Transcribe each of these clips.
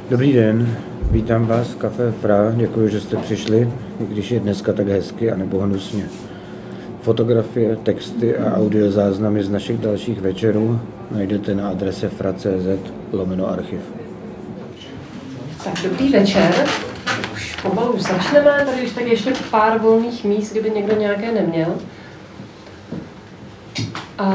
Dobrý den, vítám vás v Café Fra, děkuji, že jste přišli, i když je dneska tak hezky a nebo hnusně. Fotografie, texty a audiozáznamy z našich dalších večerů najdete na adrese fra.cz/archiv. Tak dobrý večer, už pomalu začneme, tady už tak ještě pár volných míst, kdyby někdo nějaké neměl. A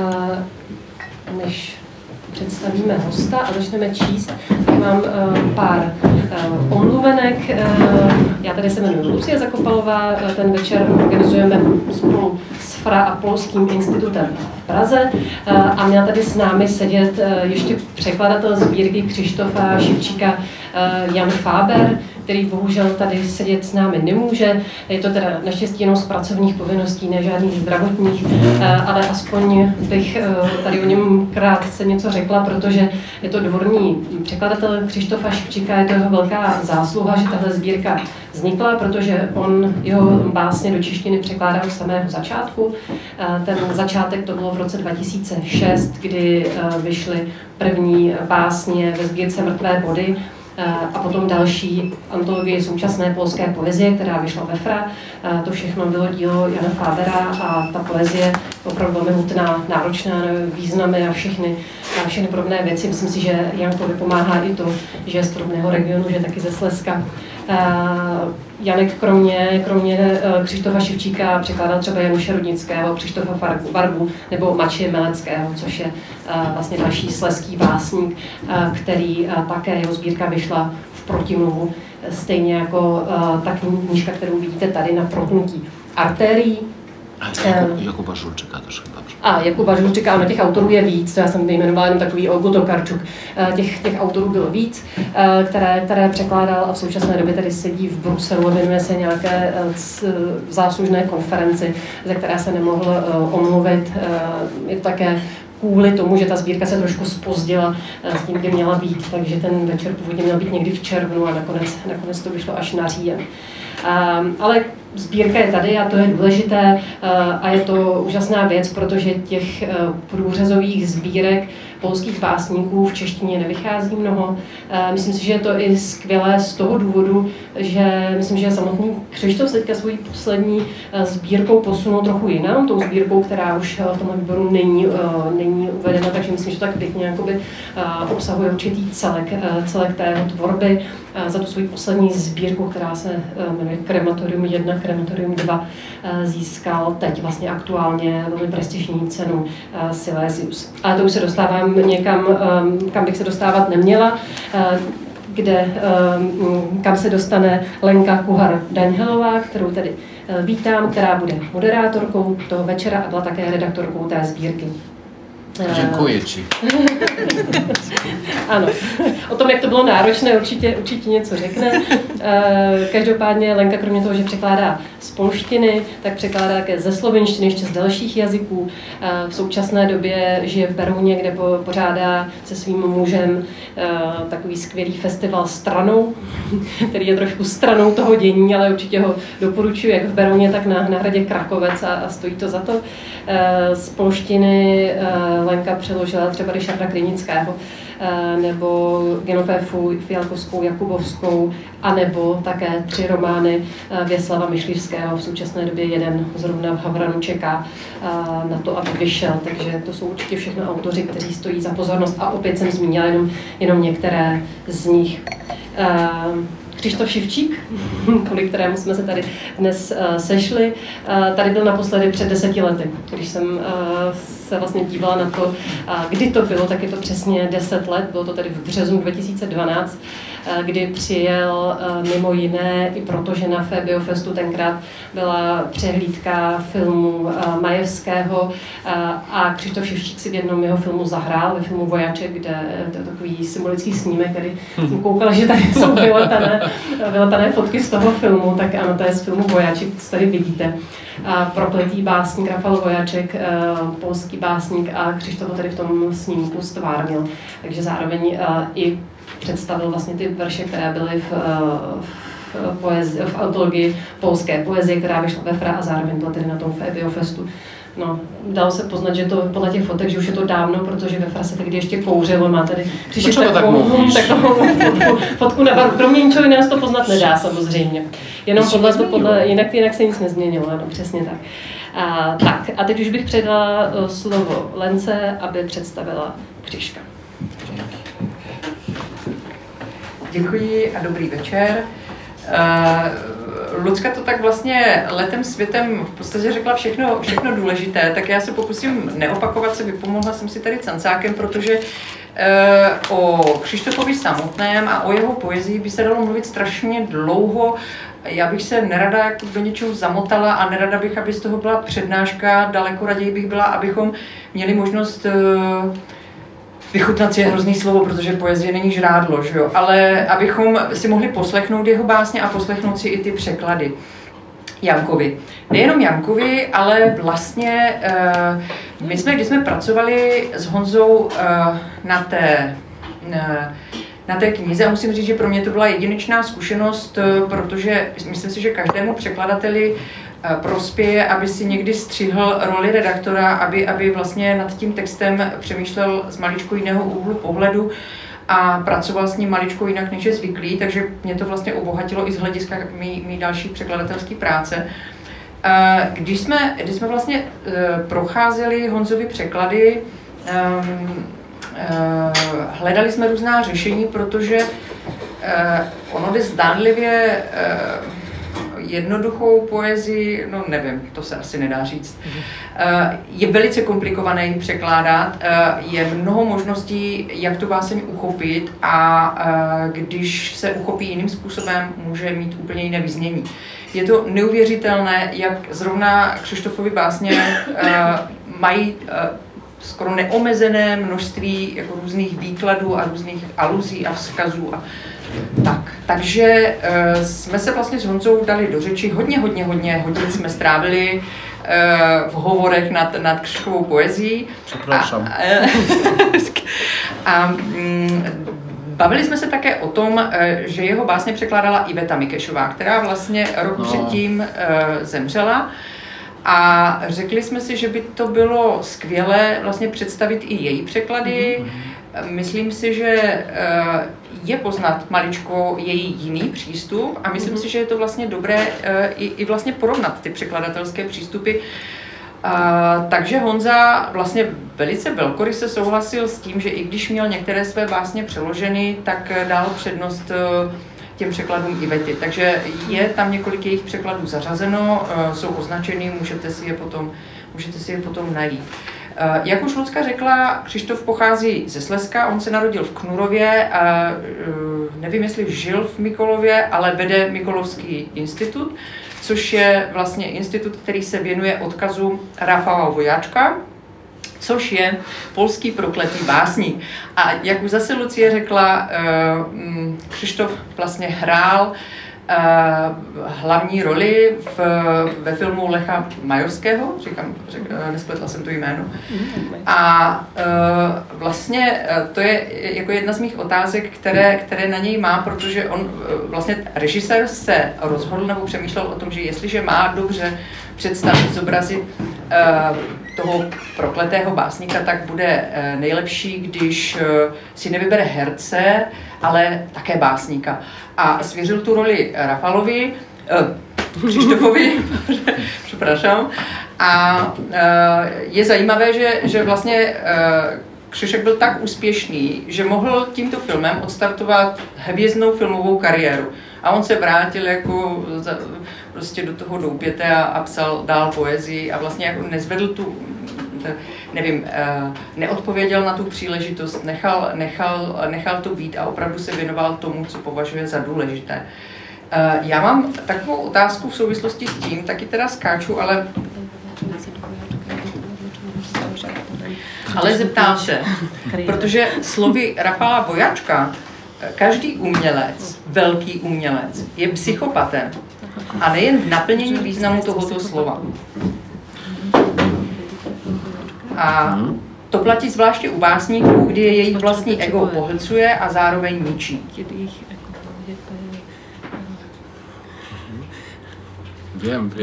než představíme hosta a začneme číst, tak mám pár omluvenek. Já tady se jmenuji Lucie Zakopalová, ten večer organizujeme spolu s Fra a Polským institutem v Praze a měl tady s námi sedět ještě překladatel sbírky Krzysztofa Šivčíka Jan Fáber, který bohužel tady sedět s námi nemůže. Je to teda naštěstí jenom z pracovních povinností, ne žádných zdravotních, ale aspoň bych tady o něm krátce něco řekla, protože je to dvorní překladatel Krzysztofa Šivčíka, je to jeho velká zásluha, že tahle sbírka vznikla, protože on jeho básně do češtiny překládal z samého začátku. Ten začátek to bylo v roce 2006, kdy vyšly první básně ve sbírce Mrtvé body, a potom další antologie současné polské poezie, která vyšla ve Fra. To všechno bylo dílo Jana Fábera a ta poezie opravdu velmi hutná, náročná na významy a všechny podobné věci. Myslím si, že Jankovi pomáhá i to, že je z podobného regionu, že je taky ze Slezska. Janek kromě Krzysztofa Šivčíka překládal třeba Januše Rudnického, Krzysztofa Vargu nebo Mačeje Meleckého, což je vlastně další slezský básník, který také jeho sbírka vyšla v protimluvu, stejně jako ta knížka, kterou vidíte tady na protnutí artérií. Jakuba Žulčika też chyba. Jakuba Žulčika, ano, těch autorů je víc, to já jsem vyjmenovala jenom takový Olgu Tokarčuk. Těch autorů bylo víc, které překládal a v současné době tady sedí v Bruselu a věnuje se nějaké záslužné konferenci, ze které se nemohl omluvit. Je to také kvůli tomu, že ta sbírka se trošku zpozdila s tím, kdy měla být, takže ten večer původně měl být někdy v červnu a nakonec to vyšlo až na říjen. Ale sbírka je tady a to je důležité a je to úžasná věc, protože těch průřezových sbírek polských básníků v češtině nevychází mnoho. Myslím si, že je to i skvělé z toho důvodu, že myslím, že samotný Krzysztof teďka svojí poslední sbírkou posunul trochu jinam, tou sbírkou, která už v tomhle výboru není uvedena, takže myslím, že to tak pěkně jakoby obsahuje určitý celek té jeho tvorby. Za tu svoji poslední sbírku, která se jmenuje Krematorium 1, Krematorium 2, získal teď vlastně aktuálně velmi prestižní cenu Silesius. Ale to už se dostávám někam, kam bych se dostávat neměla, kam se dostane Lenka Kuhar-Daňhelová, kterou tady vítám, která bude moderátorkou toho večera a byla také redaktorkou té sbírky. Děkuji ti. Ano, o tom, jak to bylo náročné, určitě něco řekne. Každopádně Lenka kromě toho, že překládá z polštiny, tak překládá také ze slovenštiny, ještě z dalších jazyků. V současné době žije v Berouně, kde pořádá se svým mužem takový skvělý festival Stranou, který je trošku stranou toho dění, ale určitě ho doporučuji jak v Berouně, tak na hradě Krakovec a stojí to za to. Z polštiny Lenka přeložila třeba Ryszarda Krynického, nebo Genoféfu Fialkovskou, Jakubovskou, anebo také 3 romány Věslava Myšlivského. V současné době jeden zrovna v Havranu čeká na to, aby vyšel, takže to jsou určitě všechno autoři, kteří stojí za pozornost a opět jsem zmínila jenom některé z nich. Krzysztof Šivčík, kvůli kterému jsme se tady dnes sešli, tady byl naposledy před 10 lety. Když jsem se vlastně dívala na to, kdy to bylo, tak je to přesně 10 let, bylo to tady v březnu 2012, kdy přijel mimo jiné i proto, že na Biofestu tenkrát byla přehlídka filmu Majewského a Krzysztof Šivčík si v jednom jeho filmu zahrál, ve filmu Vojaček, kde to je takový symbolický snímek, který jsem koukala, že tady jsou vyletané fotky z toho filmu, tak ano, to je z filmu Vojaček, co tady vidíte. Prokletý básník Rafał Vojaček, polský básník a Krzysztof ho tady v tom snímku stvárnil, takže zároveň i představil vlastně ty verše, které byly v antologii polské poezie, která vyšla ve Fra a zároveň byla tedy na tom Biofestu No, dalo se poznat, že to podle těch fotek, že už je to dávno, protože ve Frase tehdy ještě kouřilo, má tady takovou fotku na baru. Kromě ničeho jiného to poznat nedá samozřejmě. Jenom jinak se nic nezměnilo, ano, přesně tak. A teď už bych předala slovo Lence, aby představila Křiška. Děkuji a dobrý večer. Lucka to tak vlastně letem světem v podstatě řekla všechno důležité, tak já se pokusím neopakovat se, vypomohla jsem si tady cancákem, protože o Křištofovi samotném a o jeho poezii by se dalo mluvit strašně dlouho. Já bych se nerada do něčeho zamotala a nerada bych, aby z toho byla přednáška, daleko raději bych byla, abychom měli možnost vychutnat si je hrozný slovo, protože poezie není žrádlo, že jo? Ale abychom si mohli poslechnout jeho básně a poslechnout si i ty překlady Jankovi. Nejenom Jankovi, ale vlastně když jsme pracovali s Honzou na té knize, a musím říct, že pro mě to byla jedinečná zkušenost, protože myslím si, že každému překladateli prospěje, aby si někdy střihl roli redaktora, aby vlastně nad tím textem přemýšlel z maličko jiného úhlu pohledu a pracoval s ním maličko jinak, než je zvyklý, takže mě to vlastně obohatilo i z hlediska mý další překladatelské práce. Když jsme vlastně procházeli Honzovy překlady, hledali jsme různá řešení, protože ono jde zdánlivě jednoduchou poezii, no nevím, to se asi nedá říct. Je velice komplikované ji překládat, je mnoho možností, jak tu báseň uchopit a když se uchopí jiným způsobem, může mít úplně jiné vyznění. Je to neuvěřitelné, jak zrovna Křištofovy básně mají skoro neomezené množství jako různých výkladů a různých aluzí a vzkazů. Takže jsme se vlastně s Honzou dali do řeči. Hodně hodin jsme strávili v hovorech nad Křiškovou poezií. Přepraszam. A bavili jsme se také o tom, že jeho básně překládala Iveta Mikešová, která vlastně rok předtím zemřela. A řekli jsme si, že by to bylo skvělé vlastně představit i její překlady. Myslím si, že je poznat maličko její jiný přístup a myslím si, že je to vlastně dobré i vlastně porovnat ty překladatelské přístupy. Takže Honza vlastně velice velkoryse souhlasil s tím, že i když měl některé své básně přeloženy, tak dal přednost těm překladům Ivety. Takže je tam několik jejich překladů zařazeno, jsou označeny, můžete si je potom najít. Jak už Lucka řekla, Křištof pochází ze Slezska, on se narodil v Knurově, nevím, jestli žil v Mikolově, ale vede Mikolovský institut, což je vlastně institut, který se věnuje odkazu Rafała Vojáčka, což je polský prokletý básník. A jak už zase Lucie řekla, Křištof vlastně hrál hlavní roli ve filmu Lecha Majorského, nespletla jsem to jméno. A vlastně to je jako jedna z mých otázek, které na něj má, protože on vlastně režisér se rozhodl nebo přemýšlel o tom, že jestliže má dobře představit, zobrazit toho prokletého básníka, tak bude nejlepší, když si nevybere herce, ale také básníka. A svěřil tu roli Křištofovi, přepraszam. A je zajímavé, že vlastně Křišek byl tak úspěšný, že mohl tímto filmem odstartovat hvězdnou filmovou kariéru. A on se vrátil jako prostě do toho doupěte a psal dál poezii a vlastně jako nezvedl tu, nevím, neodpověděl na tu příležitost, nechal to být a opravdu se věnoval tomu, co považuje za důležité. Já mám takovou otázku v souvislosti s tím, taky teda skáču, ale zeptám se, protože slovy Rafała Vojáčka každý umělec, velký umělec, je psychopatem. A nejen v naplnění významu tohoto slova. A to platí zvláště u básníků, kdy je jejich vlastní ego pohlcuje a zároveň ničí. Wiem.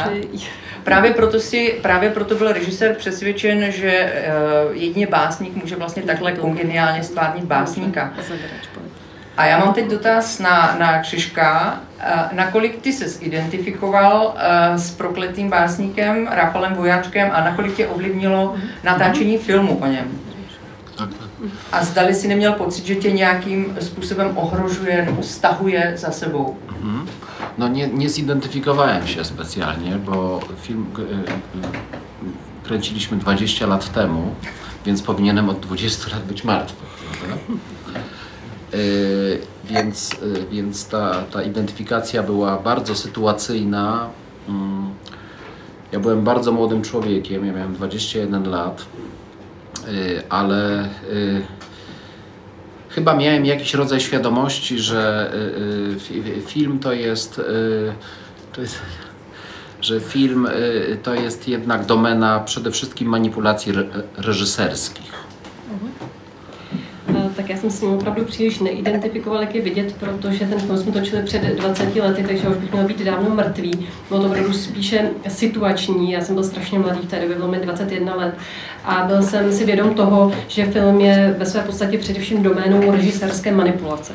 Právě proto byl režisér přesvědčen, že jedině básník může vlastně takhle kongeniálně stvárnit básníka. A já mám teď dotaz na Křiška. Nakolik ty ses identifikoval s prokletým básníkem Rafalem Vojáčkem a nakolik tě ovlivnilo natáčení filmu o něm? A zdali si neměl pocit, že tě nějakým způsobem ohrožuje nebo stahuje za sebou? No nie zidentyfikowałem się specjalnie, bo film kręciliśmy 20 lat temu, więc powinienem od 20 lat być martwy. Więc ta identyfikacja była bardzo sytuacyjna. Ja byłem bardzo młodym człowiekiem, ja miałem 21 lat, ale chyba miałem jakiś rodzaj świadomości, że film to jest jednak domena przede wszystkim manipulacji reżyserských. Tak já jsem s ním opravdu příliš neidentifikoval, jak je vidět, protože ten film jsme točili před 20 lety, takže už bych měl být dávno mrtvý. Bylo to opravdu spíše situační, já jsem byl strašně mladý, v té době bylo mi 21 let a byl jsem si vědom toho, že film je ve své podstatě především doménou režisérské manipulace.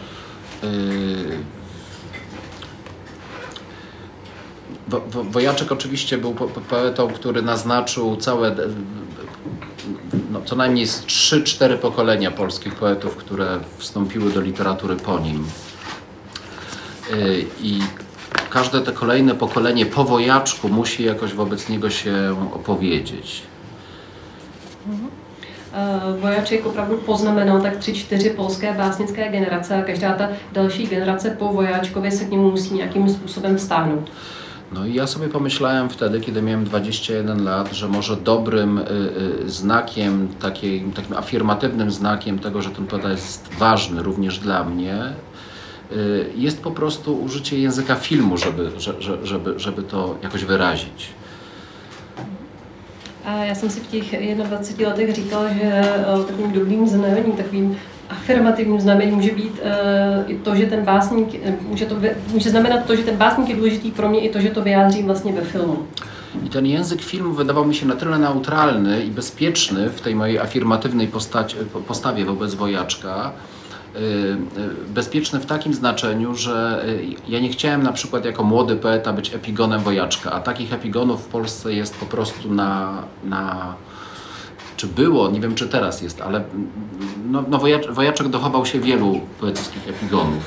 Wojaczek oczywiście był poetą, który naznaczył całe, co najmniej 3-4 pokolenia polskich poetów, które wstąpiły do literatury po nim. I każde te kolejne pokolenie po Wojaczku musi jakoś wobec niego się opowiedzieć. Vojáček opravdu poznamenal tak 3-4 polské básnické generace a každá ta další generace po Vojáčkovi se k němu musí nějakým způsobem vztáhnout. No i ja sobie pomyślałem wtedy, kiedy miałem 21 lat, że może dobrym znakiem, takim afirmatywnym znakiem tego, że ten poeta jest ważny również dla mnie, jest po prostu użycie języka filmu, żeby to jakoś wyrazić. A já jsem si v těch 21 letech říkal, že takovým dobrým znamením, takovým afirmativním znamením může být i to, že ten básník, může znamenat to, že ten básník je důležitý pro mě i to, že to vyjádřím vlastně ve filmu. I ten język filmu wydawał mi się na tyle neutralny i bezpieczny w tej mojej afirmatywnej postawie wobec Wojaczka, bezpieczny w takim znaczeniu, że ja nie chciałem na przykład jako młody poeta być epigonem Wojaczka, a takich epigonów w Polsce jest po prostu czy było, nie wiem czy teraz jest, ale Wojaczek dochował się wielu poetyckých epigonów.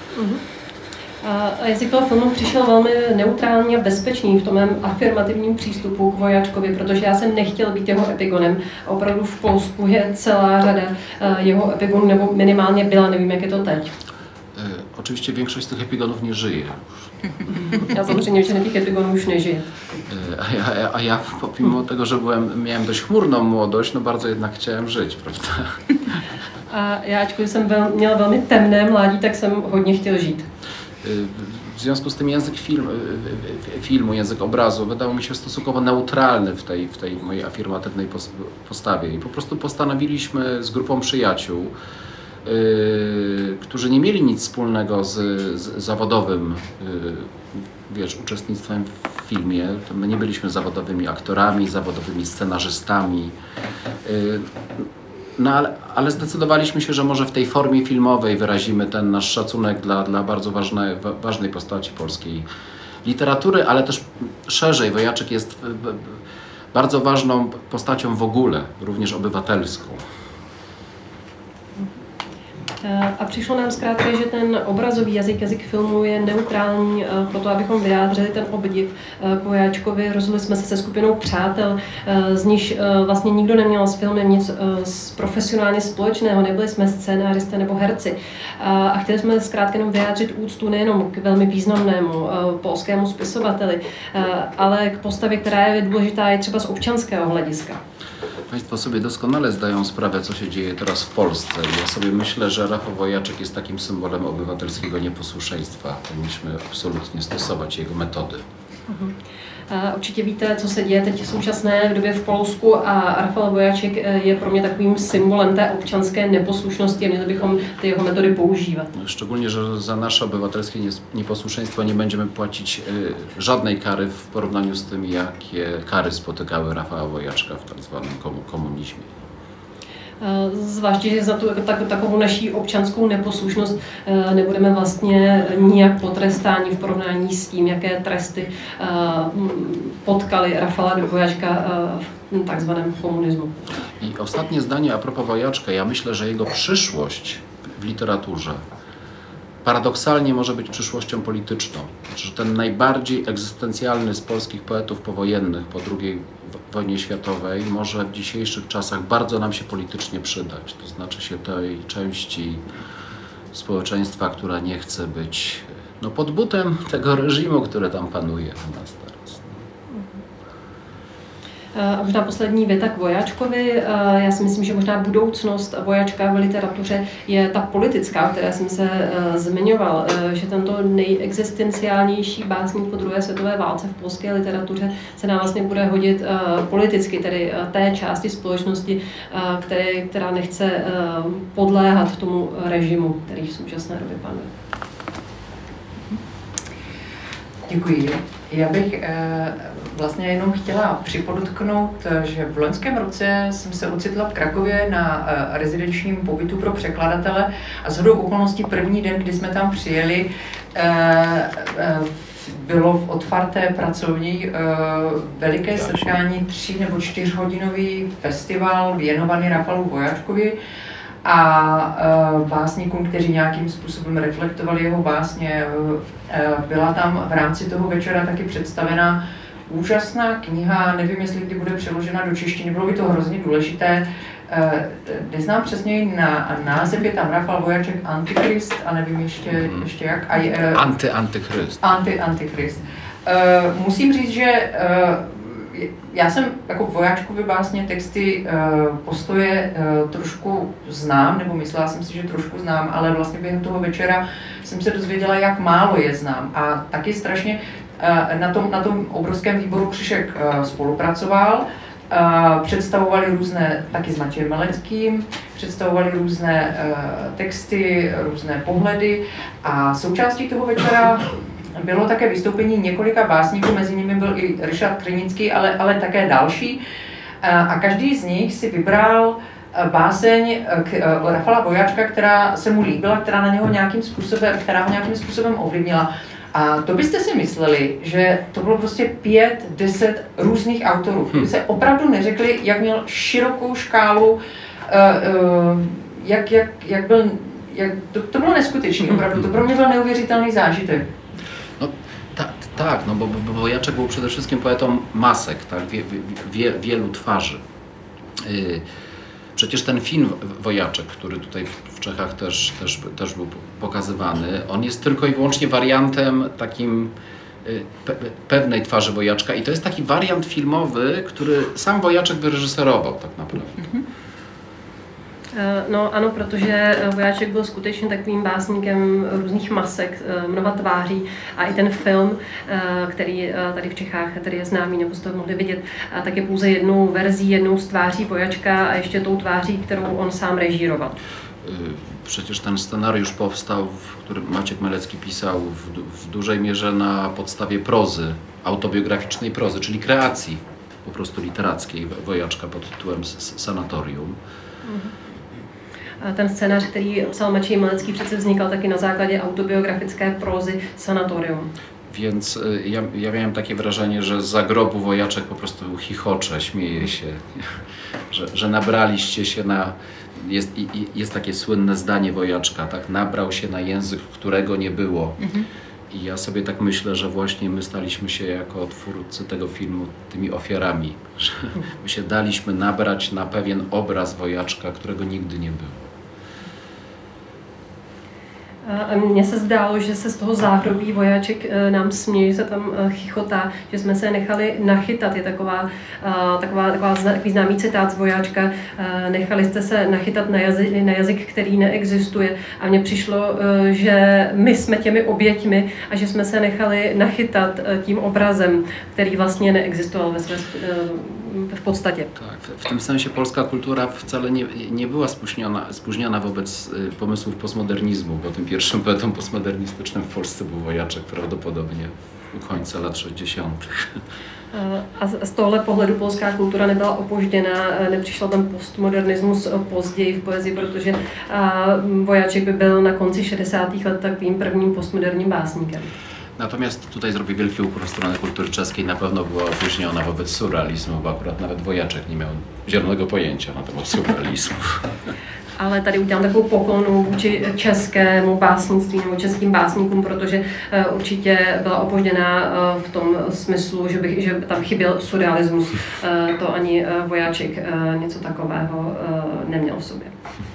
A jazyk toho filmu přišel velmi neutrální a bezpečný v tom mém afirmativním přístupu k Vojáčkovi, protože já jsem nechtěl být jeho epigonem. A opravdu v Polsku je celá řada jeho epigonů, nebo minimálně byla, nevím, jak je to teď. Oczywiście większość z tych epigonów nie żyje już. Já samozřejmě většina těch epigonů už nežije. A ja pomimo tego, że miałem dość chmurną młodość, no bardzo jednak chciałem żyć, prawda? A já, ačkoliv jsem měl velmi temné mládí, tak jsem hodně chtěl žít. W związku z tym język filmu, język obrazu wydał mi się stosunkowo neutralny w tej mojej afirmatywnej postawie. I po prostu postanowiliśmy z grupą przyjaciół, którzy nie mieli nic wspólnego z zawodowym uczestnictwem w filmie. To my nie byliśmy zawodowymi aktorami, zawodowymi scenarzystami. No ale zdecydowaliśmy się, że może w tej formie filmowej wyrazimy ten nasz szacunek dla bardzo ważnej postaci polskiej literatury, ale też szerzej. Wojaczek jest bardzo ważną postacią w ogóle, również obywatelską. A přišlo nám zkrátka, že ten obrazový jazyk filmu je neutrální pro to, abychom vyjádřili ten obdiv k Vojáčkovi. Rozhodli jsme se se skupinou přátel, z níž vlastně nikdo neměl s filmem nic profesionálně společného, nebyli jsme scénáristé nebo herci. A chtěli jsme zkrátka jenom vyjádřit úctu nejenom k velmi významnému polskému spisovateli, ale k postavě, která je důležitá i třeba z občanského hlediska. Państwo sobie doskonale zdają sprawę, co się dzieje teraz w Polsce. Ja sobie myślę, że Rafał Wojaczek jest takim symbolem obywatelskiego nieposłuszeństwa. Powinniśmy absolutnie stosować jego metody. Určitě víte, co se děje teď v současné době v Polsku a Rafał Vojáček je pro mě takovým symbolem té občanské neposlušnosti a měli bychom ty jeho metody používat. Szczególnie, że za nasze obywatelskie nieposłuszeństwo nie będziemy płacić żadnej kary w porównaniu z tym, jakie kary spotykały Rafała Vojáčka w tak zwanym komunizmie. Zvláště, že za tu takovou naší občanskou neposlušnost nebudeme vlastně nijak potrestáni v porovnání s tím, jaké tresty potkaly Rafała Vojáčka w tak zwanym komunizmu. I ostatnie zdanie a propos Vojáčka. Ja myślę, że jego przyszłość w literaturze paradoksalnie może być przyszłością polityczną. Znaczy, że ten najbardziej egzystencjalny z polskich poetów powojennych po II wojnie światowej może w dzisiejszych czasach bardzo nam się politycznie przydać. To znaczy się tej części społeczeństwa, która nie chce być pod butem tego reżimu, który tam panuje u nas teraz. A možná poslední věta k Vojáčkovi. Já si myslím, že možná budoucnost Vojáčka v literatuře je ta politická, o které jsem se zmiňoval, že tento nejexistenciálnější básník po druhé světové válce v polské literatuře se nám vlastně bude hodit politicky, tedy té části společnosti, která nechce podléhat tomu režimu, který v současné době panuje. Děkuji. Já bych vlastně jenom chtěla připodotknout, že v loňském roce jsem se ocitla v Krakově na rezidenčním pobytu pro překladatele a shodou okolností první den, kdy jsme tam přijeli, bylo v otvarté pracovní veliké setkání 3 nebo 4hodinový festival věnovaný Rafalu Vojáčkovi a básníkům, kteří nějakým způsobem reflektovali jeho básně. Byla tam v rámci toho večera taky představena úžasná kniha, nevím, jestli kdy bude přeložena do češtiny, bylo by to hrozně důležité. Neznám přesně název, je tam Rafał Vojáček Antichrist a nevím ještě jak. Antichrist. Antichrist. Musím říct, že já jsem jako Vojáčkovi básně texty postoje trošku znám, nebo myslela jsem si, že trošku znám, ale vlastně během toho večera jsem se dozvěděla, jak málo je znám. A taky strašně na tom obrovském výboru Křišek spolupracoval. Představovali různé, taky s Matějem Meleckým, představovali různé texty, různé pohledy a součástí toho večera bylo také vystoupení několika básníků, mezi nimi byl i Ryszard Krynický, ale také další. A každý z nich si vybral báseň Rafala Vojáčka, která se mu líbila, která ho nějakým způsobem ovlivnila. A to byste si mysleli, že to bylo prostě 5-10 různých autorů. Kdyby se opravdu neřekli, jak měl širokou škálu, to bylo neskutečné, opravdu. To pro mě byl neuvěřitelný zážitek. Tak, bo Vojáček był przede wszystkim poetą masek, tak? Wielu twarzy. Przecież ten film Vojáček, który tutaj w Czechach też był pokazywany, on jest tylko i wyłącznie wariantem takim pewnej twarzy Vojáčka i to jest taki wariant filmowy, który sam Vojáček wyreżyserował tak naprawdę. No ano, protože Vojáček byl skutečně takovým básníkem různých masek, mnoha tváří a i ten film, který tady v Čechách tady je známý, nebo jste to mohli vidět, tak je pouze jednou verzí, jednou z tváří Vojáčka a ještě tou tváří, kterou on sám režíroval. Przecież ten scenariusz powstał, który Maciek Melecki pisał w dużej mierze na podstawie prozy, autobiograficznej prozy, czyli kreacji po prostu literackiej Vojáčka pod tytułem Sanatorium. Ten scénář, který psal Maciej Melecký, přece vznikal taky na základě autobiografické prózy Sanatorium. Więc ja miałem takie wrażenie, że za grobu Vojáček po prostu chichocze, śmieje się, że nabraliście się na... Jest takie słynne zdanie Vojáčka, tak? Nabrał się na język, którego nie było. I ja sobie tak myślę, że właśnie my staliśmy się jako twórcy tego filmu tymi ofiarami, że my się daliśmy nabrać na pewien obraz Vojáčka, którego nigdy nie było. A mně se zdálo, že se z toho záhrobí vojáček nám směje, se tam chichotá, že jsme se nechali nachytat. Je takový známý citát z vojáčka, nechali jste se nachytat na jazyk, který neexistuje. A mně přišlo, že my jsme těmi oběťmi a že jsme se nechali nachytat tím obrazem, který vlastně neexistoval v podstatě. Tak, v tym sensie polska kultura wcale nie była spóźniona wobec pomysłów postmodernizmu, bo tym pierwszym poetą postmodernistycznym w Polsce był Wojaczek prawdopodobnie u końca lat 60. A z tohle pohledu polská kultura nebyla opožděna, nepřišel ten postmodernismus později v poezii, protože Vojáček by byl na konci 60. let takovým prvním postmoderním básníkem. Natomiast tutaj zrobię wielki ukłon w stronę kultury czeskiej. Na pewno była opóźniona wobec surrealizmu, bo akurat nawet Wojaczek nie miał zielonego pojęcia na temat surrealizmu. Ale tady udělám takovou poklonu vůči českému básnictví nebo českým básníkům, protože určitě byla opožděná v tom smyslu, že tam chyběl surrealismus. To ani Vojáček něco takového neměl v sobě.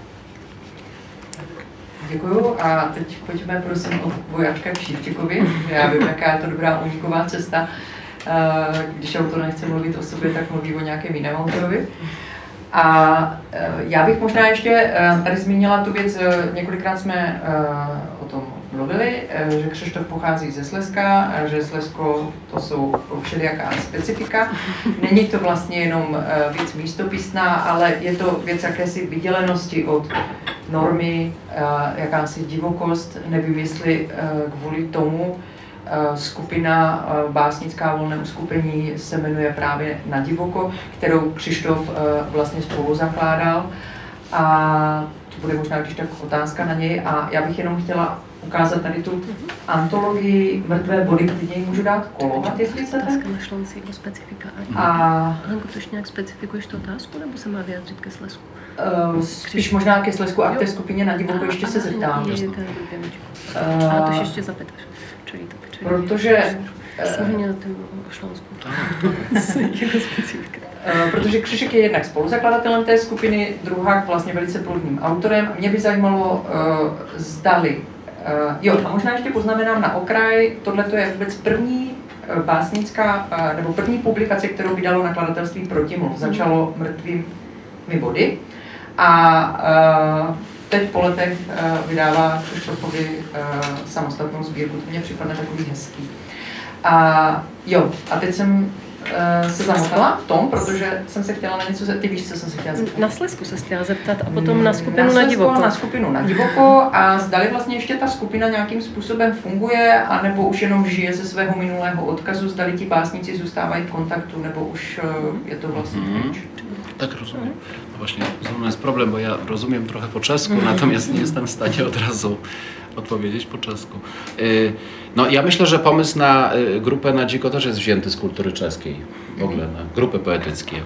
Děkuju a teď pojďme prosím od Vojáčka k Šívčíkovi. Já vím, jaká je to dobrá úniková cesta. Když autor nechce mluvit o sobě, tak mluví o nějakém jiném autorovi. A já bych možná ještě tady zmínila tu věc, několikrát jsme o tom mluvili, že Křištof pochází ze Slezska, že Slezsko to jsou všelijaká specifika. Není to vlastně jenom věc místopisná, ale je to věc jakési vydělenosti od normy, jakási divokost. Nevím, jestli kvůli tomu skupina básnická volné uskupení se jmenuje právě Na divoko, kterou Křištof vlastně spolu zakládal. A to bude možná když tak otázka na něj. A já bych jenom chtěla ukázat tady tu antologii Mrtvé body, klidně ji můžu dát kolovat, jestli chcete. Našla si jako specifika. Lenko, to nějak specifikuješ tu otázku, nebo se má vyjádřit ke Slezsku? Spíš možná ke Slezsku a k té skupině Na divoko ještě se zeptám. A to ještě zapytáš. Protože protože Křišek je jednak spoluzakladatelem té skupiny, druhák vlastně velice plodným autorem. Mě by zajímalo, zdali. Jo, a možná ještě poznamenám na okraj, tohle je vůbec první básnická, nebo první publikace, kterou vydalo nakladatelství Protimluv. Začalo Mrtvými body a teď po letech vydává Křištofovi samostatnou sbírku, to mně připadne takový hezký. A jo, a teď jsem se zamotala v tom, protože jsem se chtěla na něco zeptat. Ty víš, co jsem se chtěla zeptat? Na Slezsku se chtěla zeptat a potom na skupinu Na divoko. Na skupinu Na divoko a zdali vlastně ještě ta skupina nějakým způsobem funguje, anebo už jenom žije ze svého minulého odkazu, zdali ti básníci zůstávají v kontaktu, nebo už je to vlastně pryč. Tak rozumiem. No właśnie, to jest problem, bo ja rozumiem trochę po czesku, natomiast nie jestem w stanie od razu odpowiedzieć po czesku. No ja myślę, że pomysł na grupę Na dziko też jest wzięty z kultury czeskiej, w ogóle na grupy poetyckie.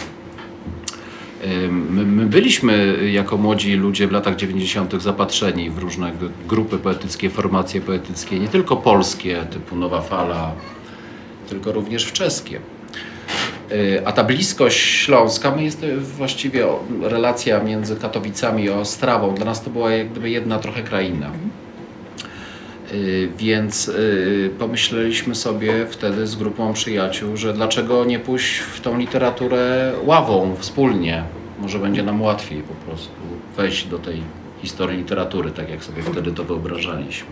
My byliśmy jako młodzi ludzie w latach 90. zapatrzeni w różne grupy poetyckie, formacje poetyckie, nie tylko polskie typu Nowa Fala, tylko również czeskie. A ta bliskość śląska, jest właściwie relacja między Katowicami a Ostrawą. Dla nas to była jak gdyby jedna trochę kraina. Więc pomyśleliśmy sobie wtedy z grupą przyjaciół, że dlaczego nie pójść w tą literaturę ławą wspólnie. Może będzie nam łatwiej po prostu wejść do tej historii literatury, tak jak sobie wtedy to wyobrażaliśmy.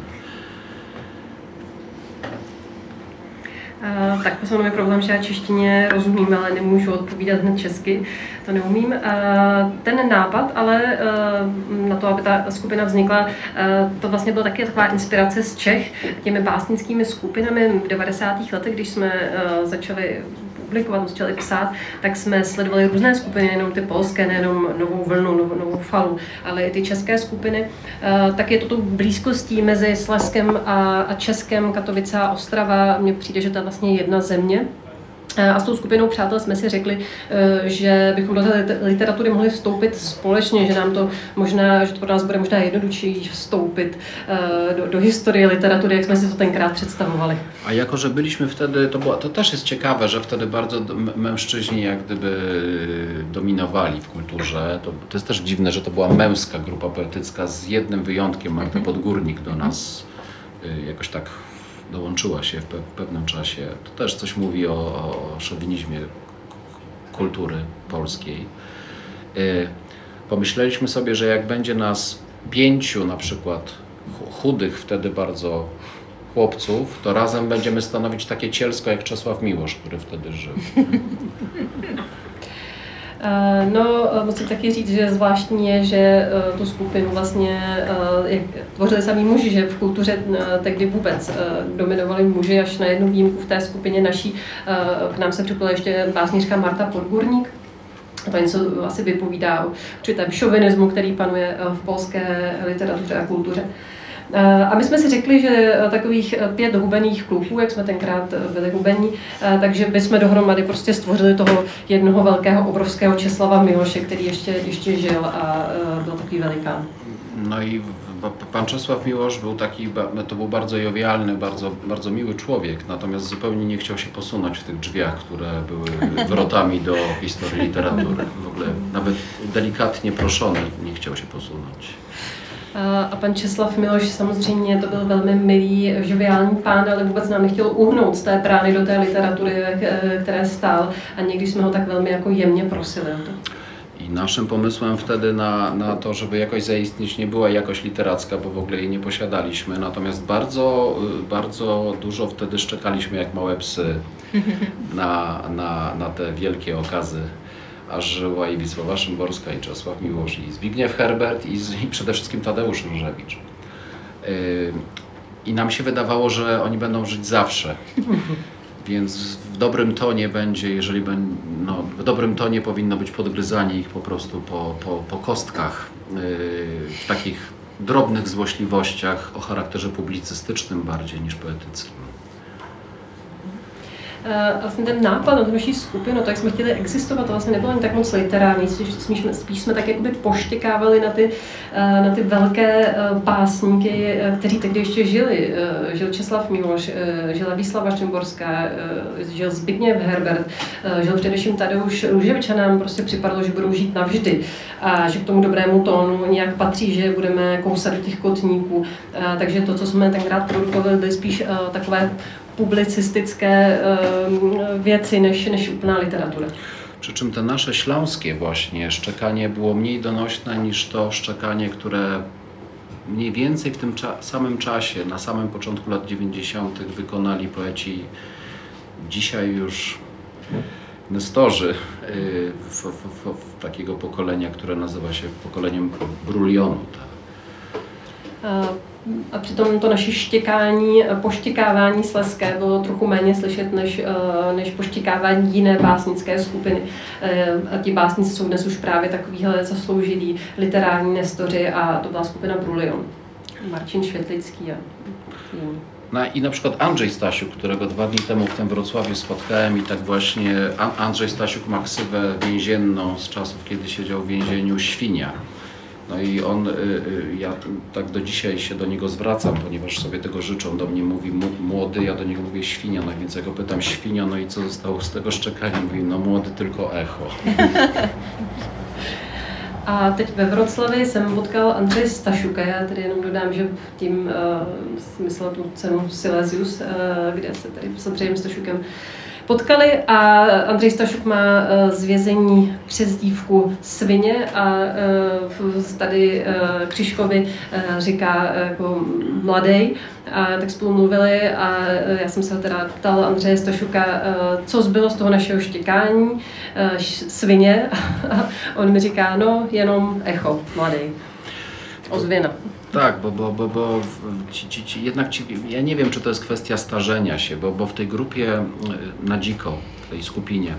Tak to je problém, že já češtině rozumím, ale nemůžu odpovídat hned česky, to neumím. Ten nápad, ale na to, aby ta skupina vznikla, to vlastně byla taky taková inspirace z Čech těmi básnickými skupinami v 90. letech, když jsme začali publikovat, začali psát, tak jsme sledovali různé skupiny, nejenom ty polské, nejenom Novou vlnu, Novou falu, ale i ty české skupiny. Tak je to tou blízkostí mezi Slezskem a Českem, Katovice a Ostrava. Mně přijde, že to je vlastně jedna země. A s tou skupinou přátel jsme si řekli, že bychom do té literatury mohli vstoupit společně, že nám to možná, že to pro nás bude možná jednodušší vstoupit do historie literatury, jak jsme si to tenkrát představovali. A jako, że byliśmy wtedy, to też jest ciekawe, że wtedy bardzo mężczyźni jak gdyby dominowali w kulturze. To jest też dziwne, że to była męska grupa poetycka z jednym wyjątkiem. Magda Podgórnik do nas jakoś tak dołączyła się w pewnym czasie. To też coś mówi o szowinizmie kultury polskiej. Pomyśleliśmy sobie, że jak będzie nas 5 na przykład chudych wtedy bardzo chłopców, to razem będziemy stanowić takie cielsko jak Czesław Miłosz, który wtedy żył. No, musím taky říct, že zvláštní je, že tu skupinu vlastně tvořili sami muži, že v kultuře tehdy vůbec dominovali muži, až na jednu výjimku v té skupině naší. K nám se připojila ještě básnířka Marta Podgórnik. To něco asi vypovídá o určitém šovinismu, který panuje v polské literatuře a kultuře. A my jsme si řekli, že takových 5 hubených kluků, jak jsme tenkrát byli hubení, takže bychom dohromady prostě stvořili toho jednoho velkého, obrovského Česlava Miloše, který ještě žil a byl takový velikán. No i pan Czesław Miłosz był taki, to był bardzo jowialny, bardzo miły człowiek, natomiast zupełnie nie chciał się posunąć w tych drzwiach, które były wrotami do historii literatury. W ogóle nawet delikatnie proszony nie chciał się posunąć. A pan Česlav Miloš samozřejmě to byl velmi milý, žoviální pán, ale vůbec nám nechtěl uhnout z té brány do té literatury, které stál, a někdy jsme ho tak velmi jako jemně prosili o to. I naszym pomysłem wtedy na to, żeby jakoś zaistnieć, nie była jakość literacka, bo w ogóle jej nie posiadaliśmy, natomiast bardzo dużo wtedy szczekaliśmy jak małe psy na te wielkie okazy. Aż żyła i Wisława Szymborska, i Czesław Miłosz, i Zbigniew Herbert, i przede wszystkim Tadeusz Różewicz. I nam się wydawało, że oni będą żyć zawsze. Więc w dobrym tonie będzie, w dobrym tonie powinno być podgryzanie ich po prostu po kostkach, w takich drobnych złośliwościach o charakterze publicystycznym bardziej niż poetyckim. Vlastně ten nápad na tu naší skupinu, tak jsme chtěli existovat, to vlastně nebylo ani tak moc literární, spíš jsme tak jakoby poštěkávali na ty velké básníky, kteří tehdy ještě žili. Žil Česlav Miloš, žila Wisława Szymborská, žil Zbigniew Herbert, žil především Tadeusz Róževič, a nám prostě připadlo, že budou žít navždy a že k tomu dobrému tónu nějak patří, že budeme kousat do těch kotníků. Takže to, co jsme tenkrát produkovali, byly spíš takové publicystycké věci než úplná literatura. Przy czym te nasze śląskie właśnie szczekanie było mniej donośne niż to szczekanie, które mniej więcej w tym samym czasie, na samym początku lat 90. wykonali poeci dzisiaj już nestorzy takiego pokolenia, które nazywa się pokoleniem Brulionu. A přitom to naše štěkání, poštěkávání slezské bylo trochu méně slyšet než poštěkávání jiné básnické skupiny. A ti básníci jsou dnes už právě takovýhle zasloužilí literární nestoři, a to byla skupina Brulion. Marcin Świetlický a jiní. No i na przykład Andrzej Stasiuk, którego 2 dni temu w tym Wrocławiu spotkałem, i tak właśnie Andrzej Stasiuk ma ksywę więzienną z czasów, kiedy siedział w więzieniu Świnia. No i on, ja tak do dzisiaj się do niego zwracam, ponieważ sobie tego życzą. Do mnie mówi młody, ja do niego mówię świnia, no więc ja go pytam: świnio, no i co zostało z tego szczekania? Mówi: no młody, tylko echo. A teď ve Wroclawi jsem potkal Andřeje Stašuka, já tedy jenom dodám, že tím myslel tu cenu Silesius, kde se tady s Andřejem Stašukem potkali, a Andřej Stašuk má z vězení přezdívku Svině a tady Křižkovi říká jako mladej, a tak spolu mluvili a já jsem se ho teda ptal Andřeje Stašuka, co zbylo z toho našeho štěkání Svině, a on mi říká: no jenom echo, mladej, ozvěna. Tak, bo jednak ja nie wiem, czy to jest kwestia starzenia się, bo w tej grupie Na dziko, w tej skupinie,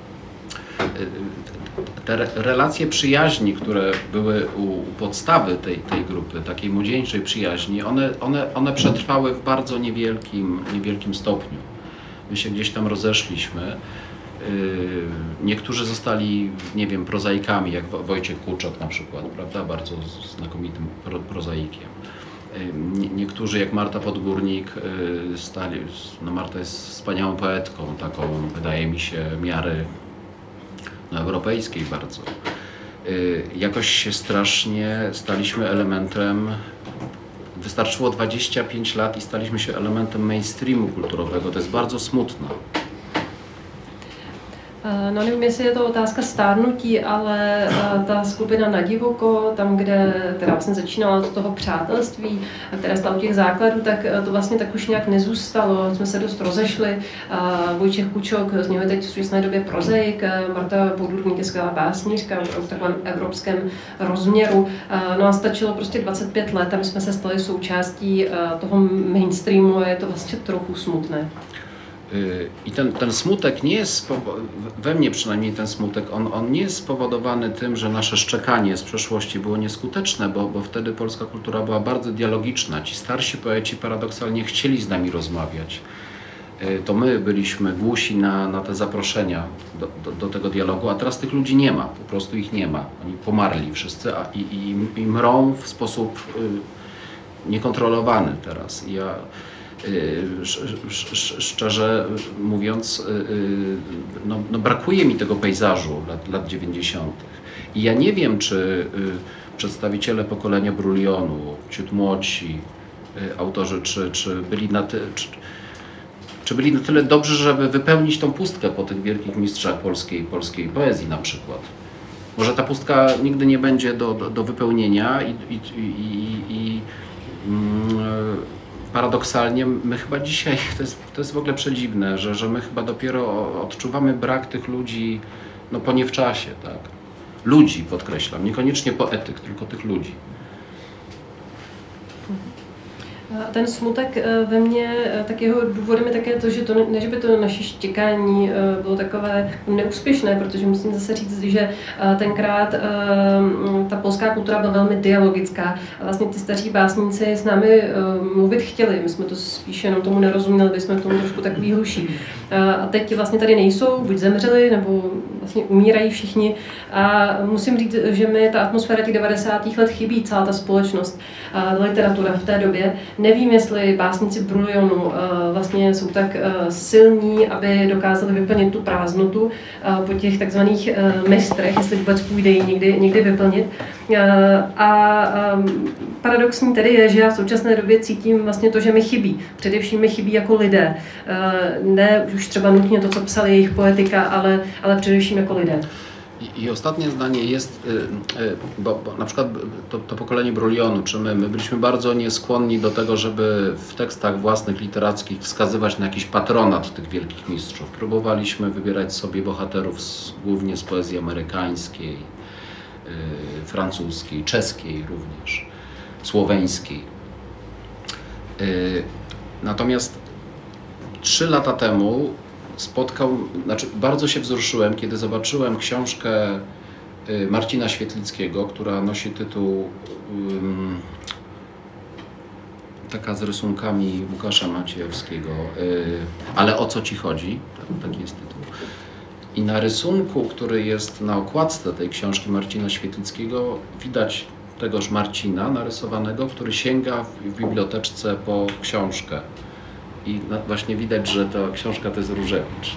te relacje przyjaźni, które były u podstawy tej grupy, takiej młodzieńczej przyjaźni, one przetrwały w bardzo niewielkim stopniu. my się gdzieś tam rozeszliśmy. Niektórzy zostali, nie wiem, prozaikami, jak Wojciech Kłuczok na przykład, prawda, bardzo znakomitym prozaikiem. Niektórzy, jak Marta Podgórnik, Marta jest wspaniałą poetką, taką, wydaje mi się, miary europejskiej bardzo. Jakoś się strasznie staliśmy elementem, wystarczyło 25 lat i staliśmy się elementem mainstreamu kulturowego. To jest bardzo smutne. No nevím, jestli je to otázka stárnutí, ale ta skupina Na divoko, tam, kde teda vlastně začínala od toho přátelství, které stalo těch základů, tak to vlastně tak už nějak nezůstalo. Jsme se dost rozešli. Vojtěch Kůčok, z něho je teď v současné době prozaik, Marta Podgórník je skvělá básnířka v takovém evropském rozměru. No a stačilo prostě 25 let a my jsme se stali součástí toho mainstreamu a je to vlastně trochu smutné. I ten smutek nie jest, we mnie przynajmniej ten smutek, on nie jest spowodowany tym, że nasze szczekanie z przeszłości było nieskuteczne, bo wtedy polska kultura była bardzo dialogiczna. Ci starsi poeci paradoksalnie chcieli z nami rozmawiać. To my byliśmy głusi na te zaproszenia do tego dialogu, a teraz tych ludzi nie ma, po prostu ich nie ma. Oni pomarli wszyscy i mrą w sposób niekontrolowany teraz. Szczerze mówiąc, no brakuje mi tego pejzażu lat 90. I ja nie wiem, czy przedstawiciele pokolenia Brulionu, ciut młodsi autorzy, czy byli na tyle dobrzy, żeby wypełnić tą pustkę po tych wielkich mistrzach polskiej poezji na przykład. Może ta pustka nigdy nie będzie do wypełnienia paradoksalnie my chyba dzisiaj, to jest w ogóle przedziwne, że my chyba dopiero odczuwamy brak tych ludzi no po nie w czasie, tak? Ludzi, podkreślam, niekoniecznie poetyk, tylko tych ludzi. Ten smutek ve mně, tak jeho důvodem je také to, že ne, že by to naše štěkání bylo takové neúspěšné, protože musím zase říct, že tenkrát ta polská kultura byla velmi dialogická. A vlastně ty staří básníci s námi mluvit chtěli, my jsme to spíš jenom tomu nerozuměli, byli jsme k tomu trošku takový hluší. A teď vlastně tady nejsou, buď zemřeli, nebo vlastně umírají všichni. A musím říct, že mi ta atmosféra těch 90. let chybí, celá ta společnost, literatura v té době. Nevím, jestli básníci Brulionu vlastně jsou tak silní, aby dokázali vyplnit tu prázdnotu po těch takzvaných mistrech, jestli vůbec půjde ji někdy vyplnit. A paradoxní tedy je, že já v současné době cítím vlastně to, že mi chybí. Především mi chybí jako lidé. Ne už třeba nutně to, co psali jejich poetyka, ale především jako lidé. I ostatnie zdanie jest, bo na przykład to pokolenie Brulionu, czy my byliśmy bardzo nieskłonni do tego, żeby w tekstach własnych literackich wskazywać na jakiś patronat tych wielkich mistrzów. Próbowaliśmy wybierać sobie bohaterów głównie z poezji amerykańskiej, francuskiej, czeskiej również, słoweńskiej. Natomiast 3 lata temu bardzo się wzruszyłem, kiedy zobaczyłem książkę Marcina Świetlickiego, która nosi tytuł taka z rysunkami Łukasza Maciejewskiego, Ale o co ci chodzi? Taki jest tytuł. I na rysunku, który jest na okładce tej książki Marcina Świetlickiego, widać tegoż Marcina narysowanego, który sięga w biblioteczce po książkę. I właśnie widać, że ta książka to jest Różewicz.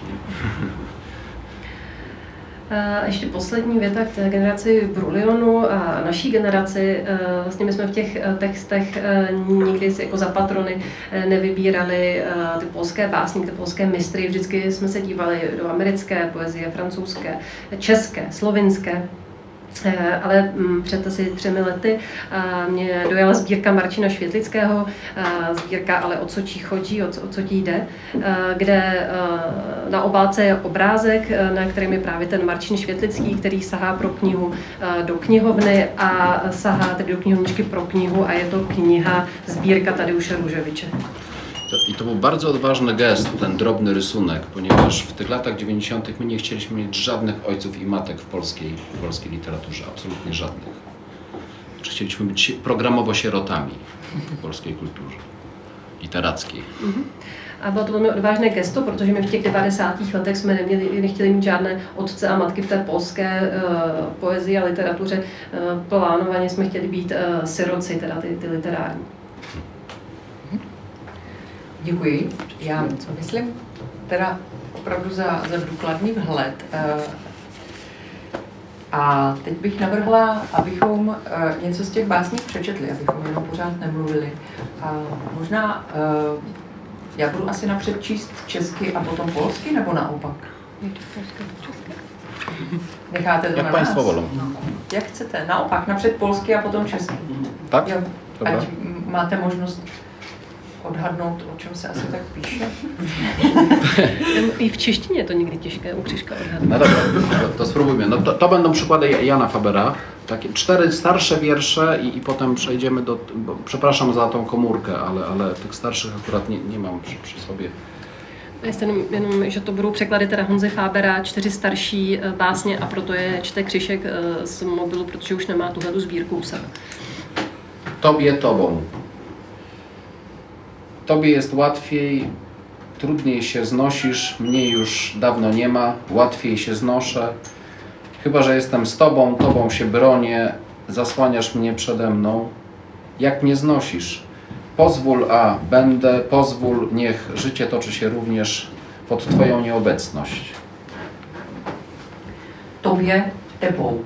A ještě poslední věta k té generaci Brulionu a naší generaci. Vlastně my jsme v těch textech nikdy si jako za patrony nevybírali ty polské básníky, ty polské mistry. Vždycky jsme se dívali do americké poezie, francouzské, české, slovinské. Ale před asi 3 lety mě dojala sbírka Marcina Švětlického, sbírka Ale o co ti chodí, o co ti jde, kde na obálce je obrázek, na kterém je právě ten Marcin Švětlický, který sahá pro knihu do knihovny a sahá tedy do knihovničky pro knihu a je to kniha sbírka Tadeusze Różewicza. I to był bardzo odważny gest, ten drobny rysunek, ponieważ w tych latach 90. my nie chcieliśmy mieć żadnych ojców i matek w polskiej literaturze, absolutnie żadnych. Chcieliśmy być programowo sierotami w polskiej kulturze literackiej. A bylo to velmi odvážné gesto, protože my v těch 90. letech jsme nechtěli mít žádné otce a matky v té polské poezii a literatuře. Plánovaně jsme chtěli být siroci, teda ty literární. Děkuji. Já myslím teda opravdu za důkladný vhled. A teď bych navrhla, abychom něco z těch básní přečetli, abychom jenom pořád nemluvili. A možná já budu asi napřed číst česky a potom polsky, nebo naopak? Necháte to jak na państwo nás? wolą. Jak chcete. Naopak, napřed polsky a potom česky. Tak? Jo, Dobra. ať máte možnost odhadnout, o čem se asi tak píše. I v češtině je to někdy těžké u Křižka odhadnout. No dobra, to spróbujmy. No to będą przykłady Jana Fabera. Takie 4 starsze wiersze i potem przejdziemy do... Bo, przepraszam za tą komórkę, ale tych starszych akurat nie mam przy sobie. Jenom, že to budou překlady teda Honzy Fábera, 4 starší básně a proto je čte Křišek z mobilu, protože už nemá tuhletu sbírku u sebe. Tobie tobą. Tobie jest łatwiej, trudniej się znosisz, mnie już dawno nie ma, łatwiej się znoszę. Chyba że jestem z tobą, tobą się bronię, zasłaniasz mnie przede mną. Jak mnie znosisz? Pozwól, a będę, pozwól, niech życie toczy się również pod twoją nieobecność. Tobě tebou.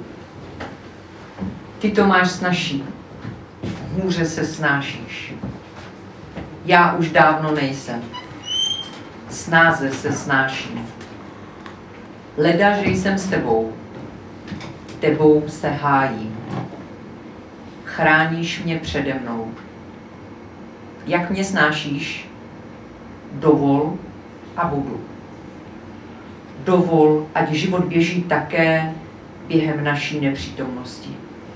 Ty to máš snazší. Hůře se snášíš. Já už dávno nejsem. Snáze se snáším. Leda, že jsem s tebou. Tebou se hájím. Chráníš mě přede mnou. Jak mě snášíš? Dovol a budu. Dovol, ať život běží také během naší nepřítomnosti.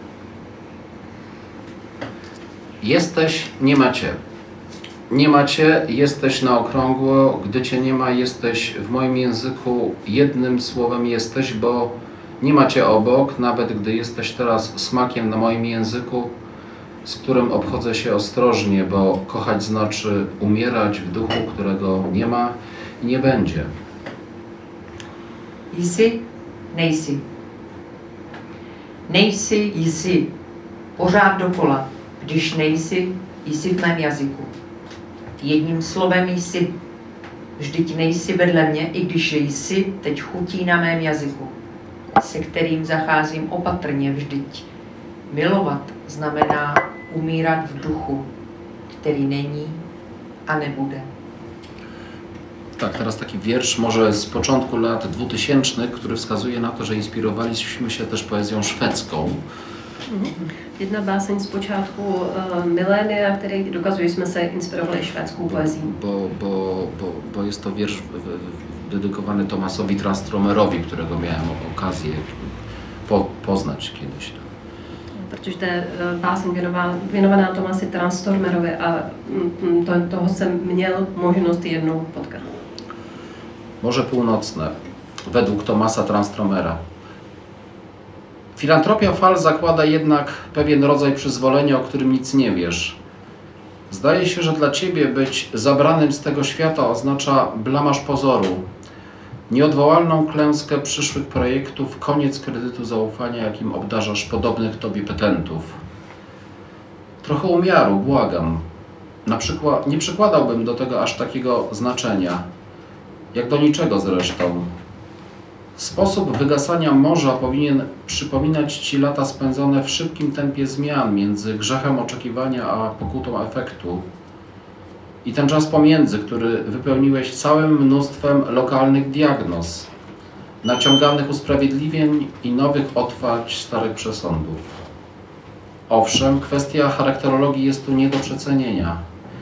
Jesteś, nie macie. Nie macie, jesteś na okrągło, gdy cię nie ma, jesteś w moim języku, jednym słowem jesteś, bo nie macie obok, nawet gdy jesteś teraz smakiem na moim języku, z którym obchodzę się ostrożnie, bo kochać znaczy umierać w duchu, którego nie ma i nie będzie. Jsi, nejsi. Nejsi, jsi. Pořád dokola. Když nejsi, jsi v mém jazyku. Jedním slovem jsi. Vždyť nejsi vedle mě, i když jsi teď chutí na mém jazyku, se kterým zacházím opatrně vždyť. Milovat znamená umírat v duchu, který není a nebude. Tak, teraz taki wiersz może z początku lat 2000, który wskazuje na to, że inspirowaliśmy się też poezją szwedzką. Jedna báseň z počátku milénia, který dokazuje, že jsme se inspirovali švédskou poezí. Bo jest to wiersz dedykowany Thomasowi Transtromerowi, którego miałem okazję poznać kiedyś. Protože to je báseň věnovaná Thomasi Transtromerovi a toho jsem měl možnost jednou potkat. Morze Północne, według Thomasa Transtromera. Filantropia fal zakłada jednak pewien rodzaj przyzwolenia, o którym nic nie wiesz. Zdaje się, że dla ciebie być zabranym z tego świata oznacza blamaż pozoru, nieodwołalną klęskę przyszłych projektów, koniec kredytu zaufania, jakim obdarzasz podobnych tobie petentów. Trochę umiaru, błagam. Na przykład nie przykładałbym do tego aż takiego znaczenia, jak do niczego zresztą. Sposób wygasania morza powinien przypominać ci lata spędzone w szybkim tempie zmian między grzechem oczekiwania a pokutą efektu. I ten czas pomiędzy, który wypełniłeś całym mnóstwem lokalnych diagnoz, naciąganych usprawiedliwień i nowych otwarć starych przesądów. Owszem, kwestia charakterologii jest tu nie do przecenienia.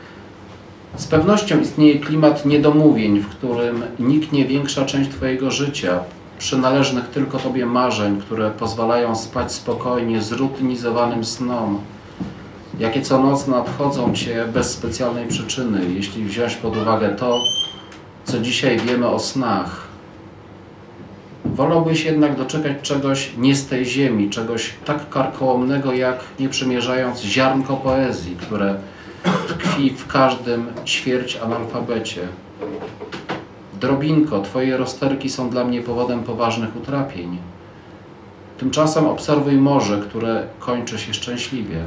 Z pewnością istnieje klimat niedomówień, w którym niknie większa część twojego życia, przynależnych tylko tobie marzeń, które pozwalają spać spokojnie, zrutynizowanym snom, jakie co noc nadchodzą cię bez specjalnej przyczyny, jeśli wziąć pod uwagę to, co dzisiaj wiemy o snach. Wolałbyś jednak doczekać czegoś nie z tej ziemi, czegoś tak karkołomnego, jak nie przymierzając ziarnko poezji, które tkwi w każdym ćwierć analfabecie. Drobinko, twoje rozterki są dla mnie powodem poważnych utrapień. Tymczasem obserwuj morze, które kończy się szczęśliwie.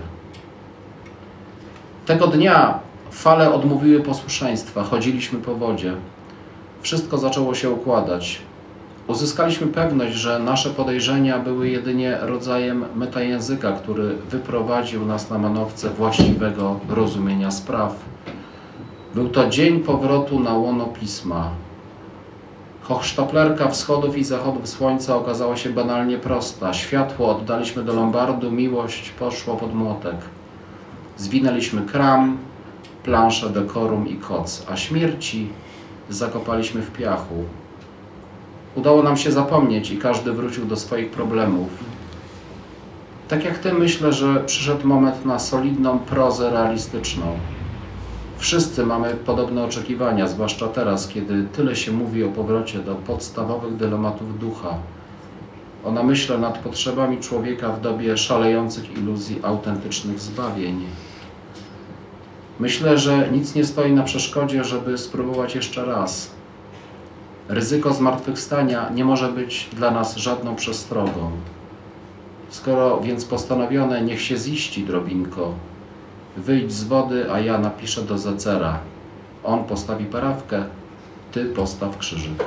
Tego dnia fale odmówiły posłuszeństwa, chodziliśmy po wodzie. Wszystko zaczęło się układać. Uzyskaliśmy pewność, że nasze podejrzenia były jedynie rodzajem metajęzyka, który wyprowadził nas na manowce właściwego rozumienia spraw. Był to dzień powrotu na łono Pisma. Hochsztaplerka wschodów i zachodów słońca okazała się banalnie prosta. Światło oddaliśmy do lombardu, miłość poszła pod młotek. Zwinęliśmy kram, planszę, dekorum i koc, a śmierci zakopaliśmy w piachu. Udało nam się zapomnieć i każdy wrócił do swoich problemów. Tak jak ty, myślę, że przyszedł moment na solidną prozę realistyczną. Wszyscy mamy podobne oczekiwania, zwłaszcza teraz, kiedy tyle się mówi o powrocie do podstawowych dylematów ducha, o namyśle nad potrzebami człowieka w dobie szalejących iluzji autentycznych zbawień. Myślę, że nic nie stoi na przeszkodzie, żeby spróbować jeszcze raz. Ryzyko zmartwychwstania nie może być dla nas żadną przestrogą. Skoro więc postanowione, niech się ziści, drobinko. Wyjdź z wody, a ja napiszę do Zecera. On postawi parawkę, ty postaw krzyżyk.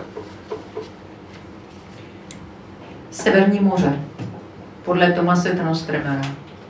Severní moře, podle Thomase Tranströmera.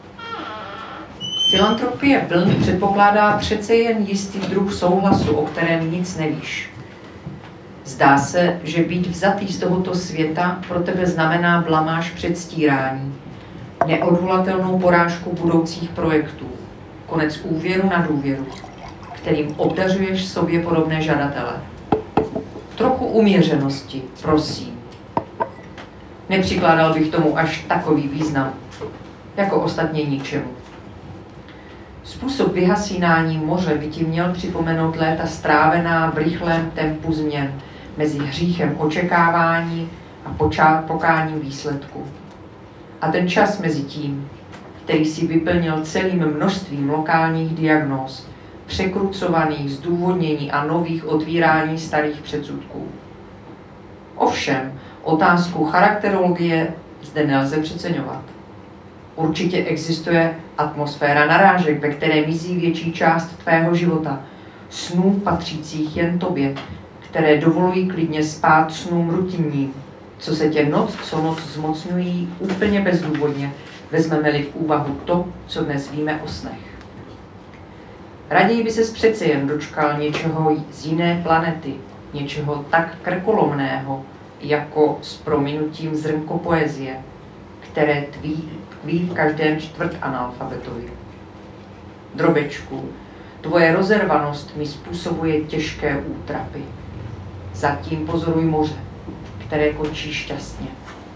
Filantropie vln předpokládá přece jen jistý druh souhlasu, o kterém nic nevíš. Zdá se, že být vzatý z tohoto světa pro tebe znamená blamáž předstírání, neodvolatelnou porážku budoucích projektů, konec úvěru na důvěru, kterým obdařuješ sobě podobné žadatele. Trochu uměřenosti, prosím. Nepřikládal bych tomu až takový význam, jako ostatně ničemu. Způsob vyhasínání moře by ti měl připomenout léta strávená v rychlém tempu změn mezi hříchem očekávání a pokáním výsledku. A ten čas mezi tím, který si vyplnil celým množstvím lokálních diagnóz, překrucovaných zdůvodnění a nových otvírání starých předsudků. Ovšem, otázku charakterologie zde nelze přeceňovat. Určitě existuje atmosféra narážek, ve které mizí větší část tvého života, snů patřících jen tobě, které dovolují klidně spát snům rutinním, co se tě noc co noc zmocňují úplně bezdůvodně, vezmeme-li v úvahu to, co dnes víme o snech. Raději by ses přece jen dočkal něčeho z jiné planety, něčeho tak krkolomného, jako s prominutím zrnko poezie, které tkví v každém čtvrtanalfabetovi. Drobečku, tvoje rozervanost mi způsobuje těžké útrapy. Zatím pozoruj moře, které končí šťastně.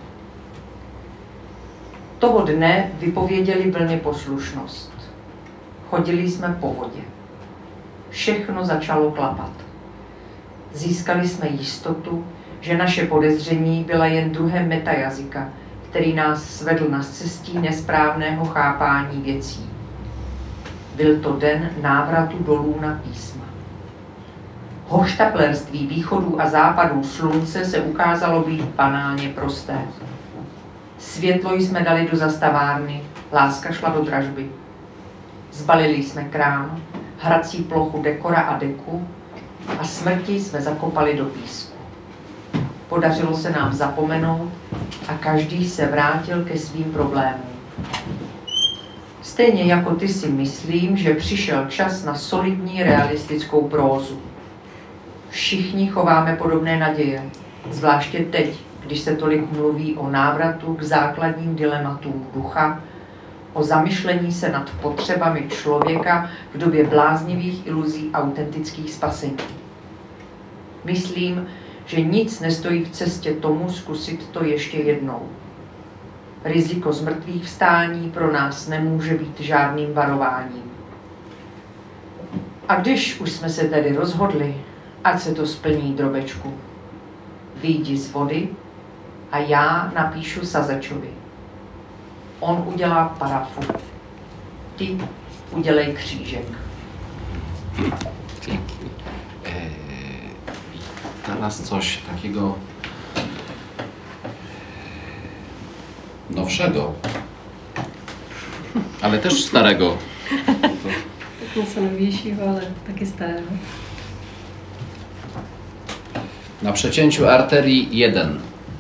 Toho dne vypověděli vlny poslušnost. Chodili jsme po vodě. Všechno začalo klapat. Získali jsme jistotu, že naše podezření byla jen druhem metajazyka, který nás svedl na cestí nesprávného chápání věcí. Byl to den návratu dolů na písma. Hochštaplerství východů a západů slunce se ukázalo být banálně prosté. Světlo jsme dali do zastavárny, láska šla do dražby. Zbalili jsme krám, hrací plochu dekora a deku a smrti jsme zakopali do písku. Podařilo se nám zapomenout a každý se vrátil ke svým problémům. Stejně jako ty si myslím, že přišel čas na solidní realistickou prózu. Všichni chováme podobné naděje, zvláště teď, když se tolik mluví o návratu k základním dilematům ducha, o zamyšlení se nad potřebami člověka v době bláznivých iluzí autentických spasení. Myslím, že nic nestojí v cestě tomu zkusit to ještě jednou. Riziko zmrtvých vstání pro nás nemůže být žádným varováním. A když už jsme se tedy rozhodli, ať se to splní, drobečku. Vyjdi z vody a já napíšu Sazečovi. On udělá parafu. Ty udělej křížek. teraz coś takiego nowszego, ale też starego. Něco novějšího, ale taky starého. Na przecięciu arterii 1.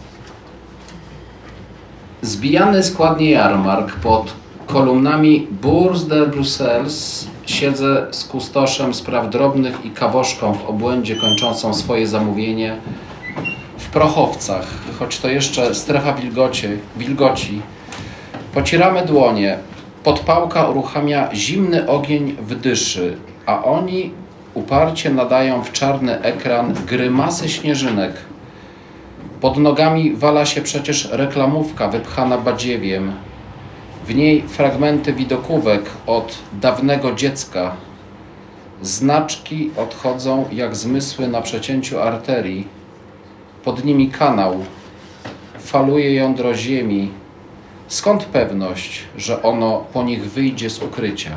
Zbijany składnie jarmark pod kolumnami Bourse de Bruxelles siedzę z kustoszem spraw drobnych i kawoszką w obłędzie kończącą swoje zamówienie w prochowcach, choć to jeszcze strefa wilgoci. Pocieramy dłonie, podpałka uruchamia zimny ogień w dyszy, a oni uparcie nadają w czarny ekran grymasy śnieżynek. Pod nogami wala się przecież reklamówka wypchana badziewiem. W niej fragmenty widokówek od dawnego dziecka. Znaczki odchodzą jak zmysły na przecięciu arterii. Pod nimi kanał. Faluje jądro ziemi. Skąd pewność, że ono po nich wyjdzie z ukrycia?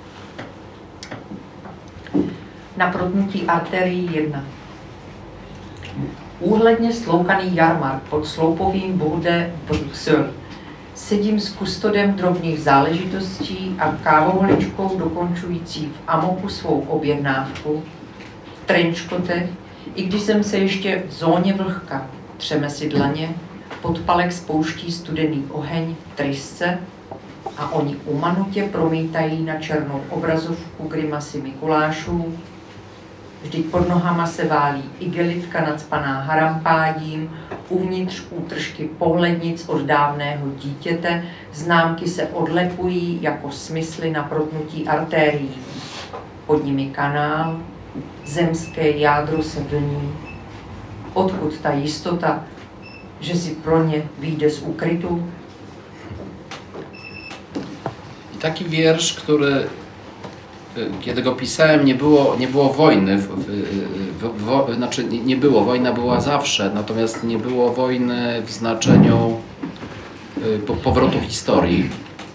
Na protnutí arterii 1. Úhledně sloukaný jarmark pod sloupovým Bourse de Bruxelles. Sedím s kustodem drobných záležitostí a kávoholičkou dokončující v amoku svou objednávku, v trenčkotech, i když jsem se ještě v zóně vlhka, třeme si dlaně, podpalek spouští studený oheň v trysce a oni umanutě promítají na černou obrazovku grimasy Mikulášů. Vždyť pod nohama se válí igelitka nacpaná harampádím, uvnitř útržky pohlednic od dávného dítěte, známky se odlepují jako smysly na protnutí artérií. Pod nimi kanál, zemské jádro se vlní. Odkud ta jistota, že si pro ně vyjde z ukrytu? I taki wiersz, który kiedy go pisałem, nie było wojny, znaczy nie było, wojna była zawsze, natomiast nie było wojny w znaczeniu powrotu historii.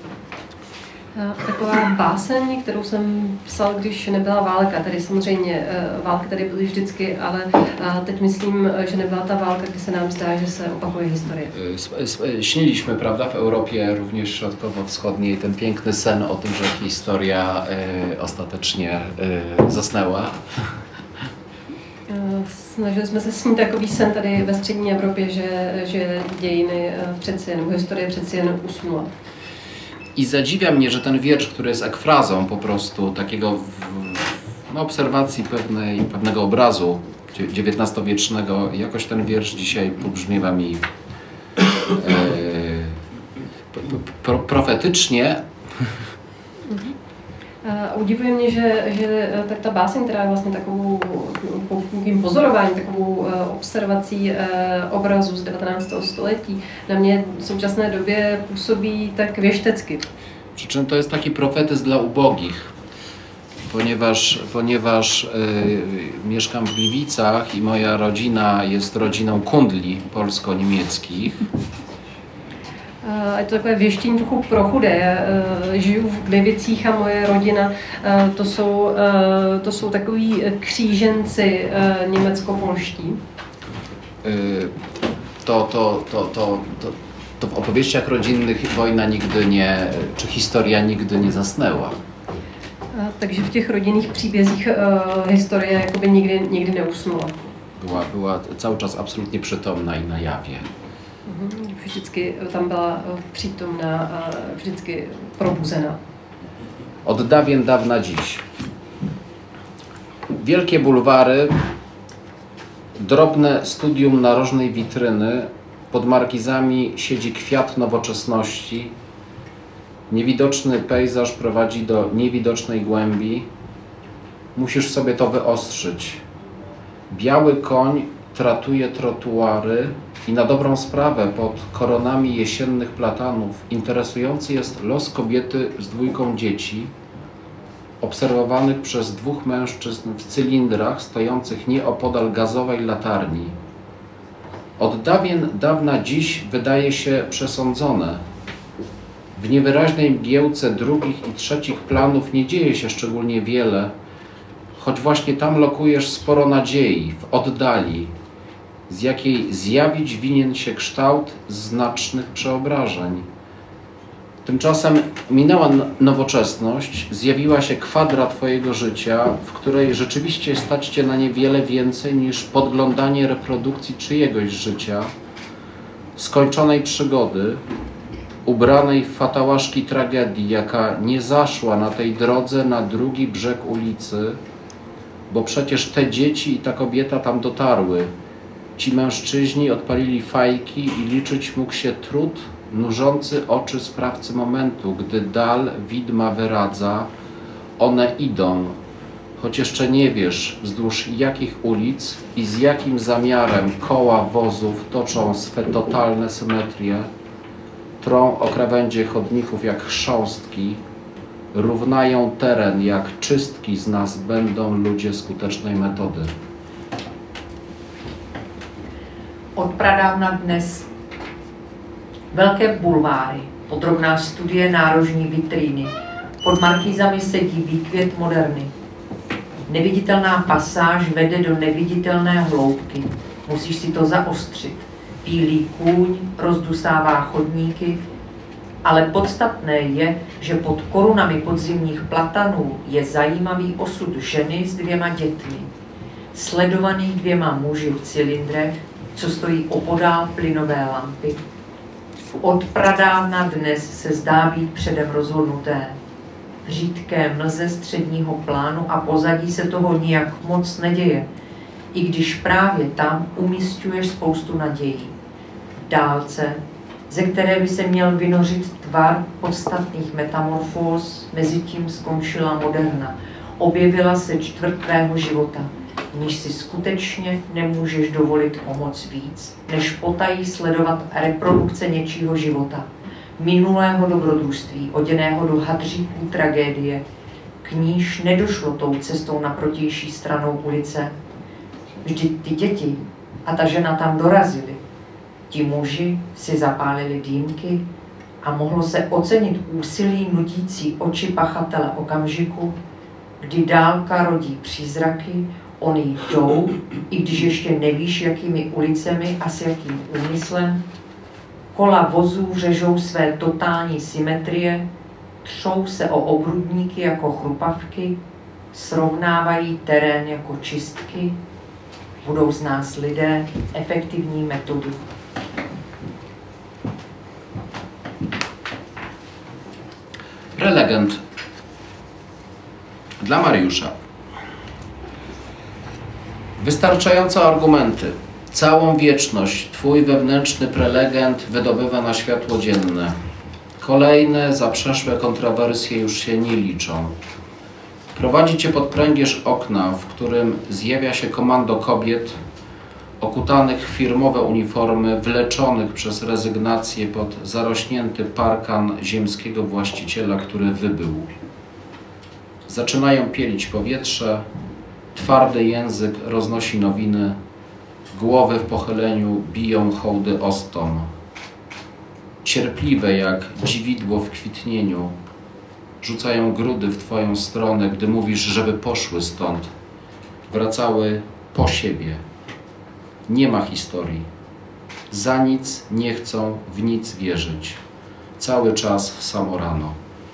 Taková báseň, kterou jsem psal, když nebyla válka. Tady samozřejmě války tady byly vždycky, ale teď myslím, že nebyla ta válka, kdy se nám zdá, že se opakuje historie. Śniliśmy, prawda, w Europie, również środkowo-wschodniej, ten piękny sen o tym, że historia ostatecznie zasnęła. Snažili jsme se snít takový sen tady ve střední Evropě, že dějiny přeci jen, historie přeci jen usnula. I zadziwia mnie, że ten wiersz, który jest ekfrazą po prostu takiego obserwacji pewnego obrazu XIX-wiecznego, jakoś ten wiersz dzisiaj pobrzmiewa mi profetycznie. Udivuje mě, že tak ta báseň, která je vlastně takovým pozorováním, takovou observací obrazu z 19. století, na mě v současné době působí tak věštecky. Przy czym to jest taki profetyzm dla ubogich, ponieważ mieszkam w Gliwicach i moja rodzina jest rodziną kundli polsko-niemieckich. Je to takové věštění trochu pro chudé. Žiju v Glivicích a moje rodina, to jsou takoví kříženci německo-polští. To w opowieściach rodzinnych wojna nigdy nie, czy historia nigdy nie zasnęła. Takže v těch rodinných příbězích historie jakoby nikdy neusnula. Była cały czas absolutnie przytomna i na jawie. Vždycky tam byla přítomná a vždycky probuzená. Od dawien dawna dziś. Wielkie bulwary, drobne studium narożnej witryny, pod markizami siedzi kwiat nowoczesności, niewidoczny pejzaż prowadzi do niewidocznej głębi, musisz sobie to wyostrzyć. Biały koń tratuje trotuary i na dobrą sprawę pod koronami jesiennych platanów interesujący jest los kobiety z dwójką dzieci, obserwowanych przez dwóch mężczyzn w cylindrach stojących nieopodal gazowej latarni. Od dawien dawna dziś wydaje się przesądzone. W niewyraźnej mgiełce drugich i trzecich planów nie dzieje się szczególnie wiele, choć właśnie tam lokujesz sporo nadziei, w oddali, z jakiej zjawić winien się kształt znacznych przeobrażeń. Tymczasem minęła nowoczesność, zjawiła się kwadra Twojego życia, w której rzeczywiście stać Cię na niewiele więcej niż podglądanie reprodukcji czyjegoś życia, skończonej przygody, ubranej w fatałaszki tragedii, jaka nie zaszła na tej drodze na drugi brzeg ulicy, bo przecież te dzieci i ta kobieta tam dotarły. Ci mężczyźni odpalili fajki i liczyć mógł się trud nużący oczy sprawcy momentu, gdy dal widma wyradza, one idą, choć jeszcze nie wiesz, wzdłuż jakich ulic i z jakim zamiarem koła wozów toczą swe totalne symetrie, trą o krawędzie chodników jak chrząstki, równają teren jak czystki z nas będą ludzie skutecznej metody. Od pradávna dnes velké bulváry, podrobná studie nárožní vitríny, pod markýzami sedí výkvět moderny. Neviditelná pasáž vede do neviditelné hloubky, musíš si to zaostřit. Bílý kůň rozdusává chodníky, ale podstatné je, že pod korunami podzimních platanů je zajímavý osud ženy s 2 dětmi, sledovaný 2 muži v cylindrech, co stojí opodál plynové lampy. Od pradávna dnes se zdá být předem rozhodnuté. V řídké mlze středního plánu a pozadí se toho nijak moc neděje, i když právě tam umísťuješ spoustu nadějí. V dálce, ze které by se měl vynořit tvar podstatných metamorfóz, mezitím skončila moderna. Objevila se čtvrt tvého života, níž si skutečně nemůžeš dovolit o moc víc, než potají sledovat reprodukce něčího života, minulého dobrodružství, oděného do hadříků tragédie, k níž nedošlo tou cestou na protější stranou ulice. Vždyť ty děti a ta žena tam dorazili. Ti muži si zapálili dýmky a mohlo se ocenit úsilí nudící oči pachatele okamžiku, kdy dálka rodí přízraky, oni jdou, i když ještě nevíš, jakými ulicemi a s jakým úmyslem. Kola vozů řežou své totální symetrie, třou se o obrubníky jako chrupavky, srovnávají terén jako čistky, budou z nás lidé efektivní metody. Prelegent dla Mariusza. Wystarczające argumenty. Całą wieczność Twój wewnętrzny prelegent wydobywa na światło dzienne. Kolejne zaprzeszłe kontrowersje już się nie liczą. Prowadzi Cię pod pręgierz okna, w którym zjawia się komando kobiet okutanych w firmowe uniformy, wleczonych przez rezygnację pod zarośnięty parkan ziemskiego właściciela, który wybył. Zaczynają pielić powietrze, twardy język roznosi nowiny, głowy w pochyleniu biją hołdy ostom. Cierpliwe jak dziwidło w kwitnieniu, rzucają grudy w Twoją stronę, gdy mówisz, żeby poszły stąd. Wracały po siebie. Nie ma historii. Za nic nie chcą w nic wierzyć. Cały czas w samo rano.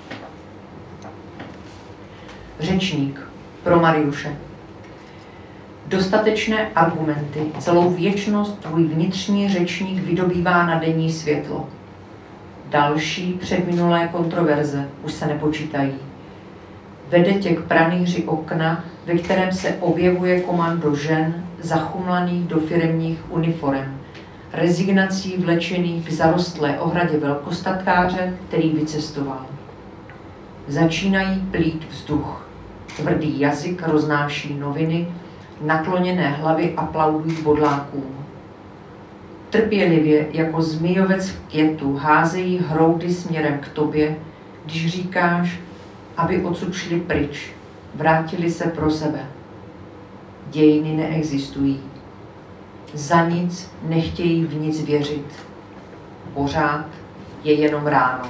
Řečník pro Mariuše. Dostatečné argumenty, celou věčnost tvůj vnitřní řečník vydobývá na denní světlo. Další předminulé kontroverze už se nepočítají. Vede tě k pranýři okna, ve kterém se objevuje komando žen zachumlaných do firemních uniforem, rezignací vlečených k zarostlé ohradě velkostatkáře, který vycestoval. Začínají plít vzduch. Tvrdý jazyk roznáší noviny, nakloněné hlavy aplaudují bodlákům. Trpělivě jako zmijovec v květu házejí hroudy směrem k tobě, když říkáš, aby odsud šli pryč, vrátili se pro sebe. Dějiny neexistují. Za nic nechtějí v nic věřit. Pořád je jenom ráno.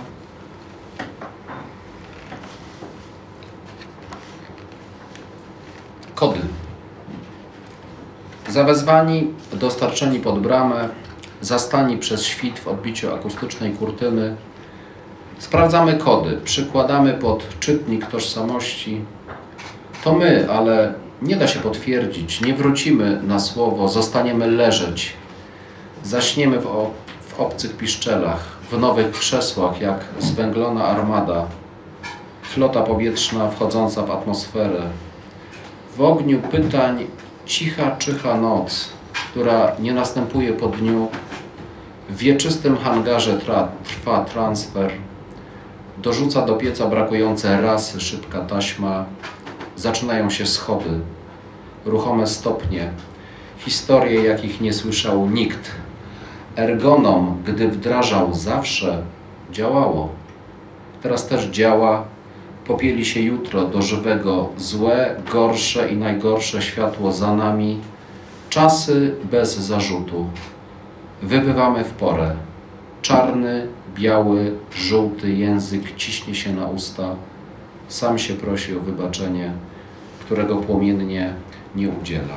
Kody. Zawezwani, dostarczeni pod bramę, zastani przez świt w odbiciu akustycznej kurtyny, sprawdzamy kody, przykładamy pod czytnik tożsamości. To my, ale nie da się potwierdzić, nie wrócimy na słowo, zostaniemy leżeć. Zaśniemy w obcych piszczelach, w nowych krzesłach, jak zwęglona armada, flota powietrzna wchodząca w atmosferę. W ogniu pytań cicha, czyha noc, która nie następuje po dniu. W wieczystym hangarze trwa transfer. Dorzuca do pieca brakujące rasy szybka taśma. Zaczynają się schody, ruchome stopnie, historie, jakich nie słyszał nikt. Ergonom, gdy wdrażał zawsze, działało. Teraz też działa, popieli się jutro do żywego, złe, gorsze i najgorsze światło za nami, czasy bez zarzutu. Wybywamy w porę. Czarny, biały, żółty język ciśnie się na usta, sam się prosi o wybaczenie, którego płomiennie nie udziela.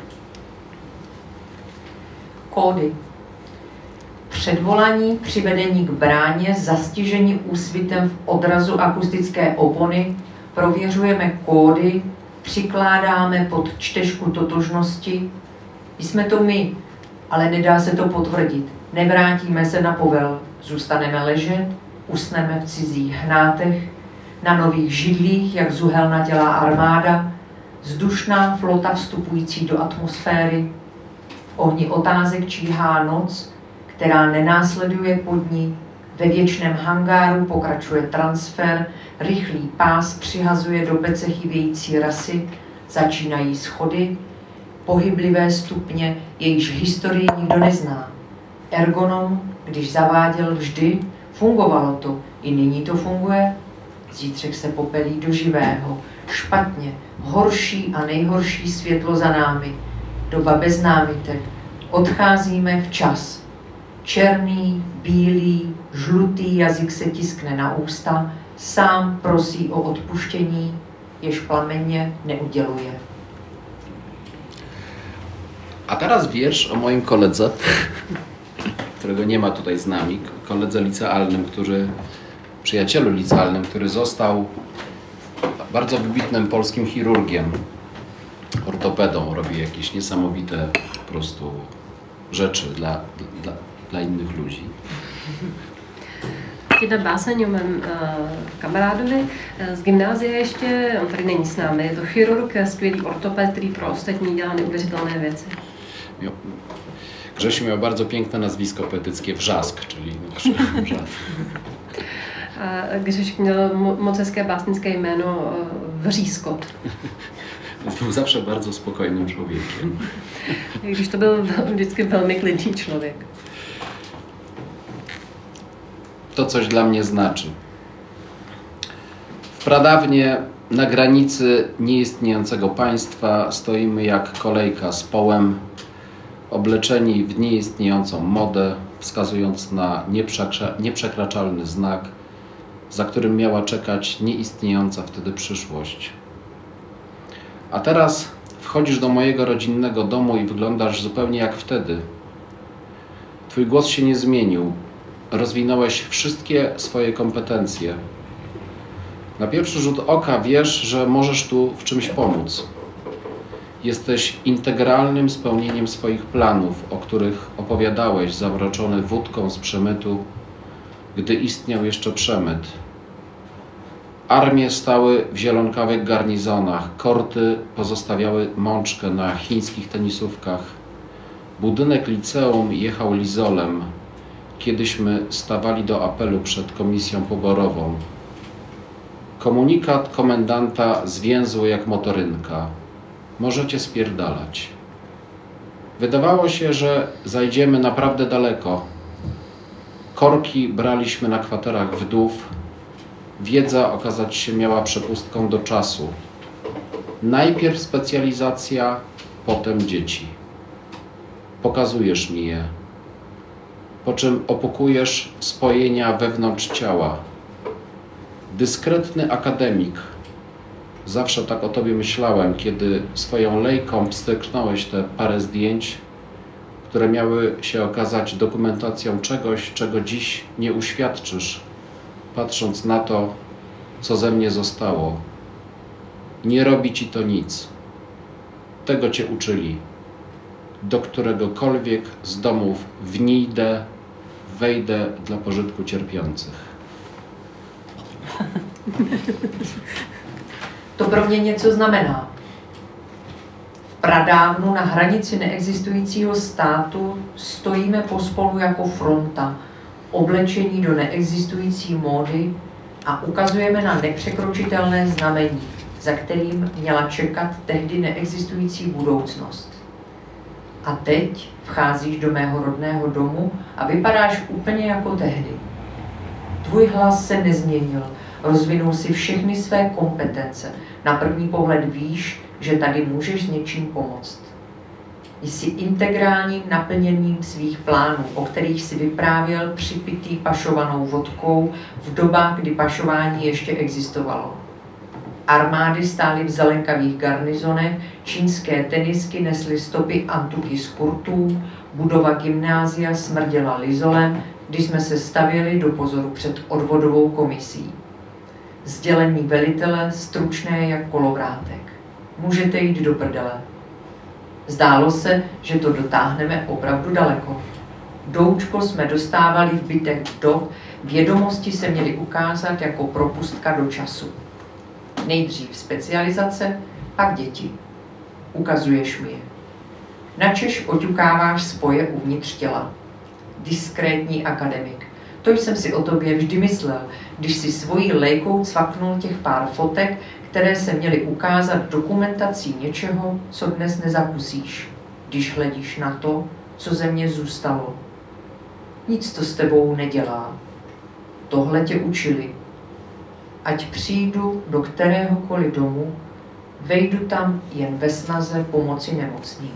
Kódy. Předvolaní, přivedení k bráně, zastižení úsvitem v odrazu akustické opony, prověřujeme kódy, přikládáme pod čtečku totožnosti. Jsme to my, ale nedá se to potvrdit. Nevrátíme se na povel, zůstaneme ležet, usneme v cizích hnátech, na nových židlích, jak zuhelnatělá armáda, vzdušná flota vstupující do atmosféry. V ohni otázek číhá noc, která nenásleduje pod ní. Ve věčném hangáru pokračuje transfer, rychlý pás přihazuje do pece chybějící rasy, začínají schody, pohyblivé stupně, jejichž historii nikdo nezná. Ergonom, když zaváděl vždy, fungovalo to, i nyní to funguje. Zítřek se popelí do živého, špatně, horší a nejhorší světlo za námi, doba bez námitek, odcházíme včas. Černý, bílý, žlutý jazyk se tiskne na ústa, sám prosí o odpuštění, jež plamenně neuděluje. A teraz wiersz o moim koledze, którego nie ma tutaj z nami, koledze licealnym, przyjacielu licealnym, który został bardzo wybitnym polskim chirurgiem, ortopedą, robi jakieś niesamowite po prostu rzeczy dla innych ludzi. Jedna báseň o mém kamarádovi z gymnázia ještě, on tady není s námi, je to chirurg, skvělý ortoped, který pro ostatní dělá neuvěřitelné věci. Grzesiu miał bardzo piękne nazwisko poetyckie Wrzask, czyli Wrzask. Grzesiek měl moc hezké básnické jméno Vřískot. Był zawsze bardzo spokojnym człowiekiem. Když to byl vždycky velmi klidný člověk. To coś dla mnie znaczy. W pradawnie na granicy nieistniejącego państwa stoimy jak kolejka z połem, obleczeni w nieistniejącą modę, wskazując na nieprzekraczalny znak, za którym miała czekać nieistniejąca wtedy przyszłość. A teraz wchodzisz do mojego rodzinnego domu i wyglądasz zupełnie jak wtedy. Twój głos się nie zmienił. Rozwinąłeś wszystkie swoje kompetencje. Na pierwszy rzut oka wiesz, że możesz tu w czymś pomóc. Jesteś integralnym spełnieniem swoich planów, o których opowiadałeś, zamroczony wódką z przemytu, gdy istniał jeszcze przemyt. Armie stały w zielonkawych garnizonach, korty pozostawiały mączkę na chińskich tenisówkach. Budynek liceum jechał lizolem, kiedyśmy stawali do apelu przed komisją poborową. Komunikat komendanta zwięzły jak motorynka. Możecie spierdalać. Wydawało się, że zajdziemy naprawdę daleko. Korki braliśmy na kwaterach wdów. Wiedza okazać się miała przepustką do czasu. Najpierw specjalizacja, potem dzieci. Pokazujesz mi je, po czym opukujesz spojenia wewnątrz ciała. Dyskretny akademik, Zawsze tak o tobie myślałem, kiedy swoją lejką pstryknąłeś te parę zdjęć, które miały się okazać dokumentacją czegoś, czego dziś nie uświadczysz, patrząc na to, co ze mnie zostało. Nie robi ci to nic. Tego cię uczyli. Do któregokolwiek z domów wnijdę, wejdę dla pożytku cierpiących. To pro mě něco znamená. V pradávnu na hranici neexistujícího státu stojíme pospolu jako fronta, oblečení do neexistující módy a ukazujeme na nepřekročitelné znamení, za kterým měla čekat tehdy neexistující budoucnost. A teď vcházíš do mého rodného domu a vypadáš úplně jako tehdy. Tvůj hlas se nezměnil, rozvinul si všechny své kompetence. Na první pohled víš, že tady můžeš s něčím pomoct. Jsi integrálním naplněním svých plánů, o kterých si vyprávěl připitý pašovanou vodkou v dobách, kdy pašování ještě existovalo. Armády stály v zelenkavých garnizonech, čínské tenisky nesly stopy antuky z kurtů, budova gymnázia smrděla lizolem, když jsme se stavěli do pozoru před odvodovou komisí. Sdělení velitele stručné jak kolovrátek. Můžete jít do prdele. Zdálo se, že to dotáhneme opravdu daleko. Doučko jsme dostávali v bytech vdov, vědomosti se měly ukázat jako propustka do času. Nejdřív specializace, pak děti. Ukazuješ mi je. Načež oťukáváš spoje uvnitř těla. Diskrétní akademik. To jsem si o tobě vždy myslel, když si svojí lejkou cvaknul těch pár fotek, které se měly ukázat dokumentací něčeho, co dnes nezakusíš, když hledíš na to, co ze mě zůstalo. Nic to s tebou nedělá. Tohle tě učili. Ať přijdu do kteréhokoliv domu, vejdu tam jen ve snaze pomoci nemocným.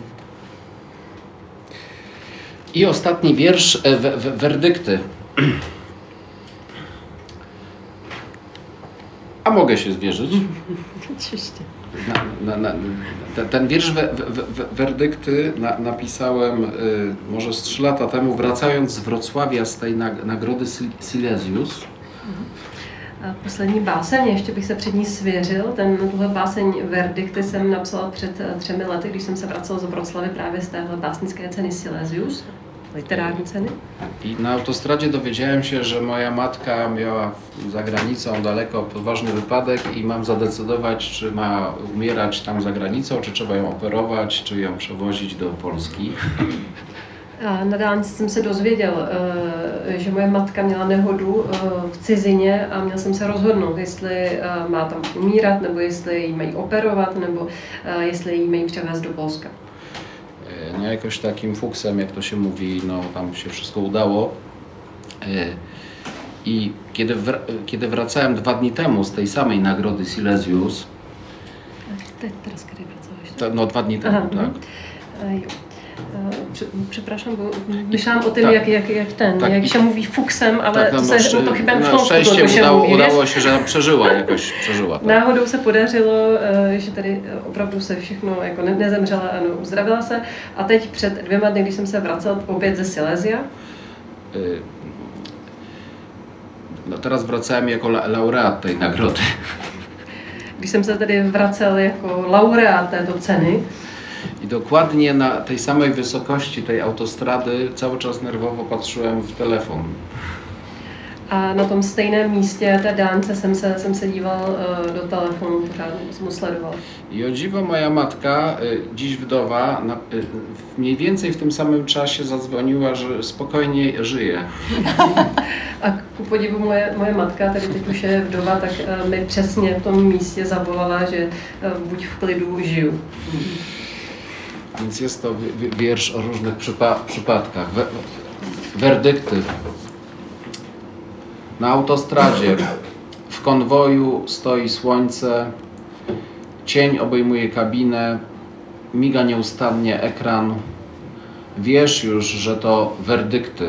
I ostatni wiersz, werdykty. A mogę się zwierzyć? Oczywiście. Ten wiersz werdykty napisałem może z 3 lata temu, wracając z Wrocławia z tej nagrody Silesius. Poslední báseň, ještě bych se před ní svěřil. Tuhle báseň Verdikty jsem napsala před 3 lety, když jsem se vracela z Wroclavy právě z téhle básnické ceny Silesius, literární ceny. I na autostradzie dowiedziałem się, że moja matka miała za granicą daleko poważny wypadek i mam zadecydować, czy ma umierać tam za granicą, czy trzeba ją operować, czy ją przewozić do Polski. A na dálnici jsem se dozvěděl, že moje matka měla nehodu v cizině a měl jsem se rozhodnout, jestli má tam umírat, nebo jestli ji mají operovat, nebo jestli ji mají převést do Polska. No jakoś takim fuksem, jak to się mówi, no tam się wszystko udało. I kiedy wracałem 2 dni temu z tej samej nagrody Silesius. Teraz kiedy wracałeś? No 2 dni temu, aha, tak. Przepraszam, bo myślałam o tym, tak, jak się mówi fuksem, ale tak, no, to chyba na szczęście udało się, że przeżyła to. Náhodou se podařilo, že tady opravdu se všechno jako nezemřela, ano, uzdravila se. A teď před 2 dny, když jsem se vracel opět ze Silesia. No teraz wracałem jako laureat tej nagrody. Když jsem se tedy vracel jako laureát této ceny. I dokładnie na tej samej wysokości tej autostrady cały czas nerwowo patrzyłem w telefon. A na tom stejném místě té dálnice jsem se díval do telefonu, pořád jsem ho sledoval. I o dziwo moja matka, dziś wdowa, mniej więcej w tym samym czasie zadzwoniła, że spokojnie żyje. A ku podivu moje matka, tady teď už je vdova, tak mi přesně v tom místě zavolala, že buď v klidu, žiju. Więc jest to wiersz o różnych przypadkach. Werdykty. Na autostradzie, w konwoju stoi słońce, cień obejmuje kabinę, miga nieustannie ekran. Wiesz już, że to werdykty.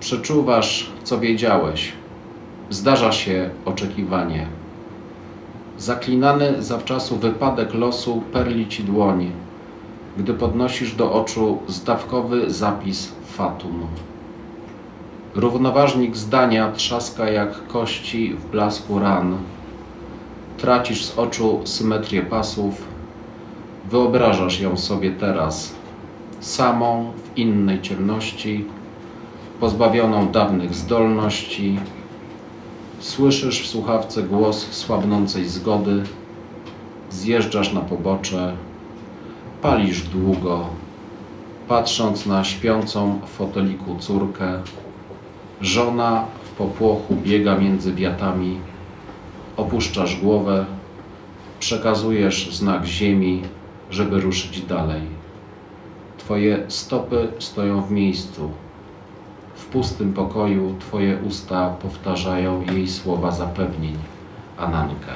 Przeczuwasz, co wiedziałeś. Zdarza się oczekiwanie. Zaklinany zawczasu wypadek losu perli ci dłoń, gdy podnosisz do oczu zdawkowy zapis fatum. Równoważnik zdania trzaska jak kości w blasku ran. Tracisz z oczu symetrię pasów, wyobrażasz ją sobie teraz, samą w innej ciemności, pozbawioną dawnych zdolności. Słyszysz w słuchawce głos słabnącej zgody, zjeżdżasz na pobocze, palisz długo, patrząc na śpiącą w foteliku córkę. Żona w popłochu biega między wiatami, opuszczasz głowę, przekazujesz znak ziemi, żeby ruszyć dalej. Twoje stopy stoją w miejscu. W pustym pokoju twoje usta powtarzają jej słowa zapewnień. Ananka.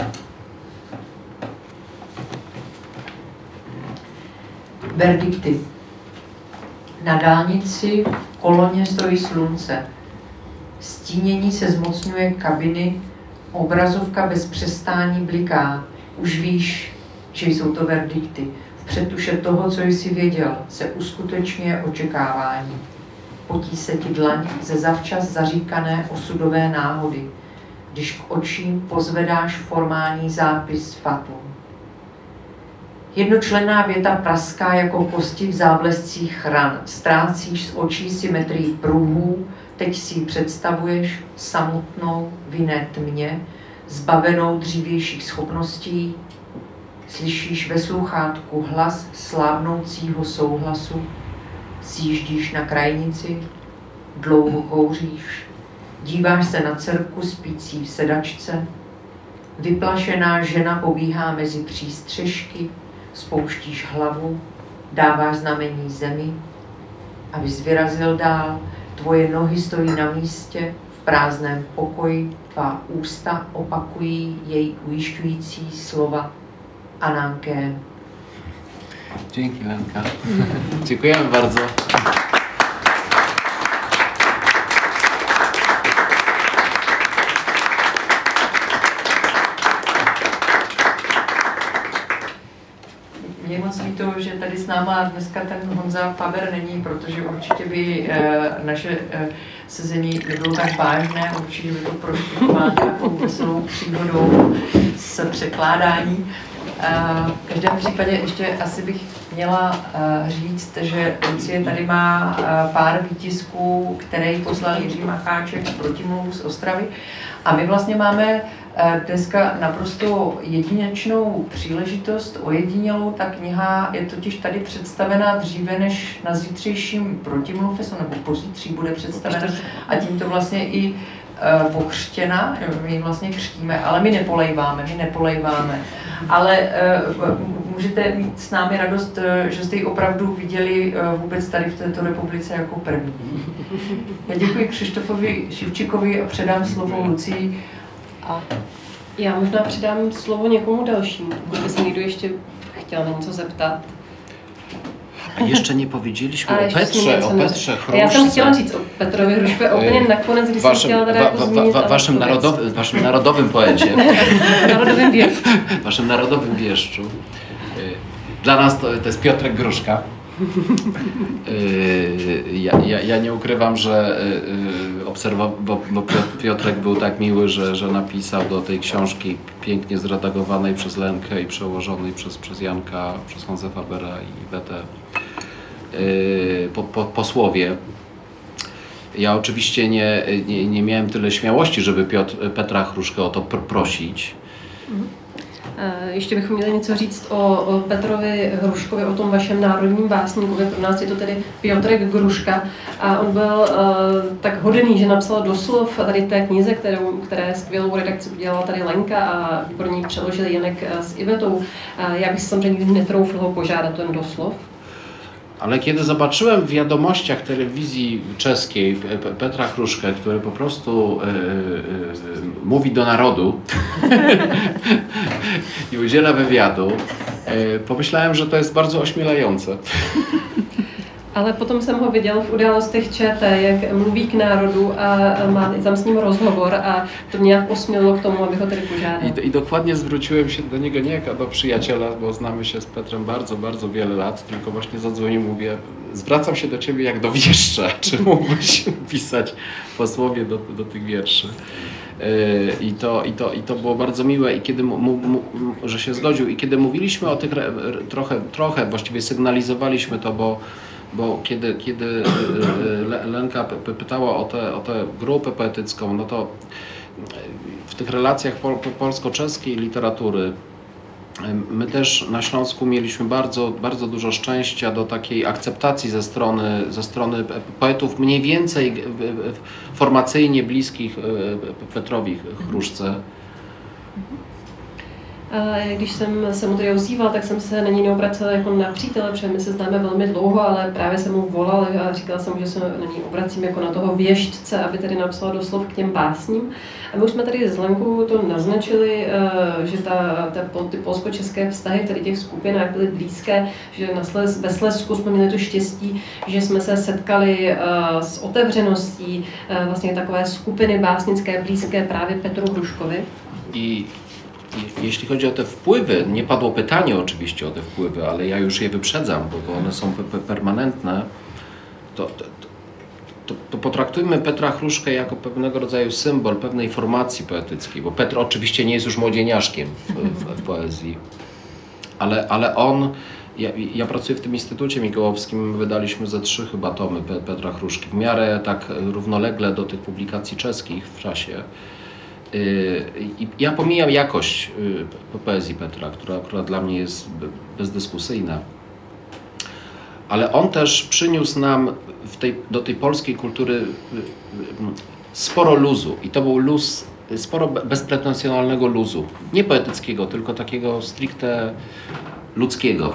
Verdikty. Na dálnici v koloně stojí slunce. Stínění se zmocňuje kabiny, obrazovka bez přestání bliká. Už víš, že jsou to verdikty. V předtuše toho, co jsi věděl, se uskutečňuje očekávání. Potí se ti dlaň ze zavčas zaříkané osudové náhody, když k očím pozvedáš formální zápis fatum. Jednočlenná věta praská jako kosti v záblescích ran. Ztrácíš z očí symetrii pruhů, teď si ji představuješ samotnou v jiné tmě, zbavenou dřívějších schopností. Slyšíš ve sluchátku hlas slábnoucího souhlasu, sjíždíš na krajnici, dlouho kouříš, díváš se na dcerku spící v sedačce, vyplašená žena pobíhá mezi přístřešky, spouštíš hlavu, dáváš znamení zemi, abys vyrazil dál, tvoje nohy stojí na místě, v prázdném pokoji, tvá ústa opakují její ujišťující slova Ananké. Dzięki, Lenka. Dziękujemy bardzo. Mě moc líto, že tady s náma dneska ten Honza Faber není, protože určitě by naše sezení nebylo tak vážné, určitě by to prošlo nějakou veselou příhodou s překládání. V každém případě ještě asi bych měla říct, že Lucie tady má pár výtisků, který poslal Jiří Macháček z Protimluvu z Ostravy. A my vlastně máme dneska naprosto jedinečnou příležitost, ojedinělou. Ta kniha je totiž tady představena dříve než na zítřejším Protimluvfestu, nebo pozítří bude představena a tímto vlastně i pokřtěna, my ji vlastně křtíme, ale my nepolejváme. Ale můžete mít s námi radost, že jste ji opravdu viděli vůbec tady v této republice jako první. Já děkuji Křištofovi Šivčíkovi a předám slovo Lucii. A já možná předám slovo někomu dalšímu, pokud by se někdo ještě chtěl na něco zeptat. A ještě nepowiedzieliśmy o Petrze Chrušce. Já jsem chtěla říct o Petrovi Hrušce úplně nakonec, když jsem chtěla teda jako zmínit waszym narodowym poecie. Narodowym wieszczu. Waszym narodowym wieszczu. Dla nas to jest Piotrek Gruszka. Ja nie ukrywam, że bo Piotrek był tak miły, że napisał do tej książki pięknie zredagowanej przez Lenkę i przełożonej przez Janka, przez Honzę Fabera i Wetę posłowie. Ja oczywiście nie miałem tyle śmiałości, żeby Petra Chruškę o to prosić. Ještě bychom měli něco říct o Petrovi Hruškovi, o tom vašem národním básníkovi. Pro nás je to tedy Piotrek Gruška. A on byl tak hodný, že napsal doslov tady té knize, které skvělou redakci udělala tady Lenka a pro ní přeložili Janek s Ivetou. Já bych samozřejmě netroufl ho požádat ten doslov. Ale kiedy zobaczyłem w wiadomościach telewizji czeskiej Petra Chruškę, który po prostu mówi do narodu i udziela wywiadu, pomyślałem, że to jest bardzo ośmielające. Ale potom jsem ho viděl v Událostech ČT, jak mluví k národu a má tam s ním rozhovor a to mě nějak osmělilo k tomu, abych ho tedy požádal. I dokładnie zwróciłem się do niego nie jako do przyjaciela, bo znamy się z Petrem bardzo, bardzo wiele lat, tylko właśnie zadzwonił, mówię, zwracam się do ciebie jak do wieszcza, czy mógłbyś pisać posłowie do tych wierszy. I to było bardzo miłe i kiedy że się zgodził i kiedy mówiliśmy o tych trochę właściwie sygnalizowaliśmy to, bo kiedy Lenka pytała o tę grupę poetycką, no to w tych relacjach polsko-czeskiej literatury my też na Śląsku mieliśmy bardzo, bardzo dużo szczęścia do takiej akceptacji ze strony poetów mniej więcej formacyjnie bliskich Petrovi Hrušce. Když jsem se mu tedy ozýval, tak jsem se na něj neobracela jako na přítele, protože my se známe velmi dlouho, ale právě jsem mu volal a říkala jsem, že se na něj obracím jako na toho věštce, aby tedy napsala doslov k těm básním. A my už jsme tady s Lenkou to naznačili, že ty polsko-české vztahy tady těch skupinách byly blízké, že ve Slezsku jsme měli to štěstí, že jsme se setkali s otevřeností vlastně takové skupiny básnické blízké právě Petru Hruškovi. Jeśli chodzi o te wpływy, nie padło pytanie oczywiście o te wpływy, ale ja już je wyprzedzam, bo one są permanentne, to potraktujmy Petra Hruškę jako pewnego rodzaju symbol pewnej formacji poetyckiej, bo Petr oczywiście nie jest już młodzieniaszkiem w poezji, ale on, ja pracuję w tym Instytucie Mikołowskim, wydaliśmy ze 3 chyba tomy Petra Hrušky, w miarę tak równolegle do tych publikacji czeskich w czasie. I ja pomijam jakość poezji Petra, która dla mnie jest bezdyskusyjna, ale on też przyniósł nam do tej polskiej kultury sporo luzu i to był luz, sporo bezpretensjonalnego luzu, nie poetyckiego, tylko takiego stricte ludzkiego.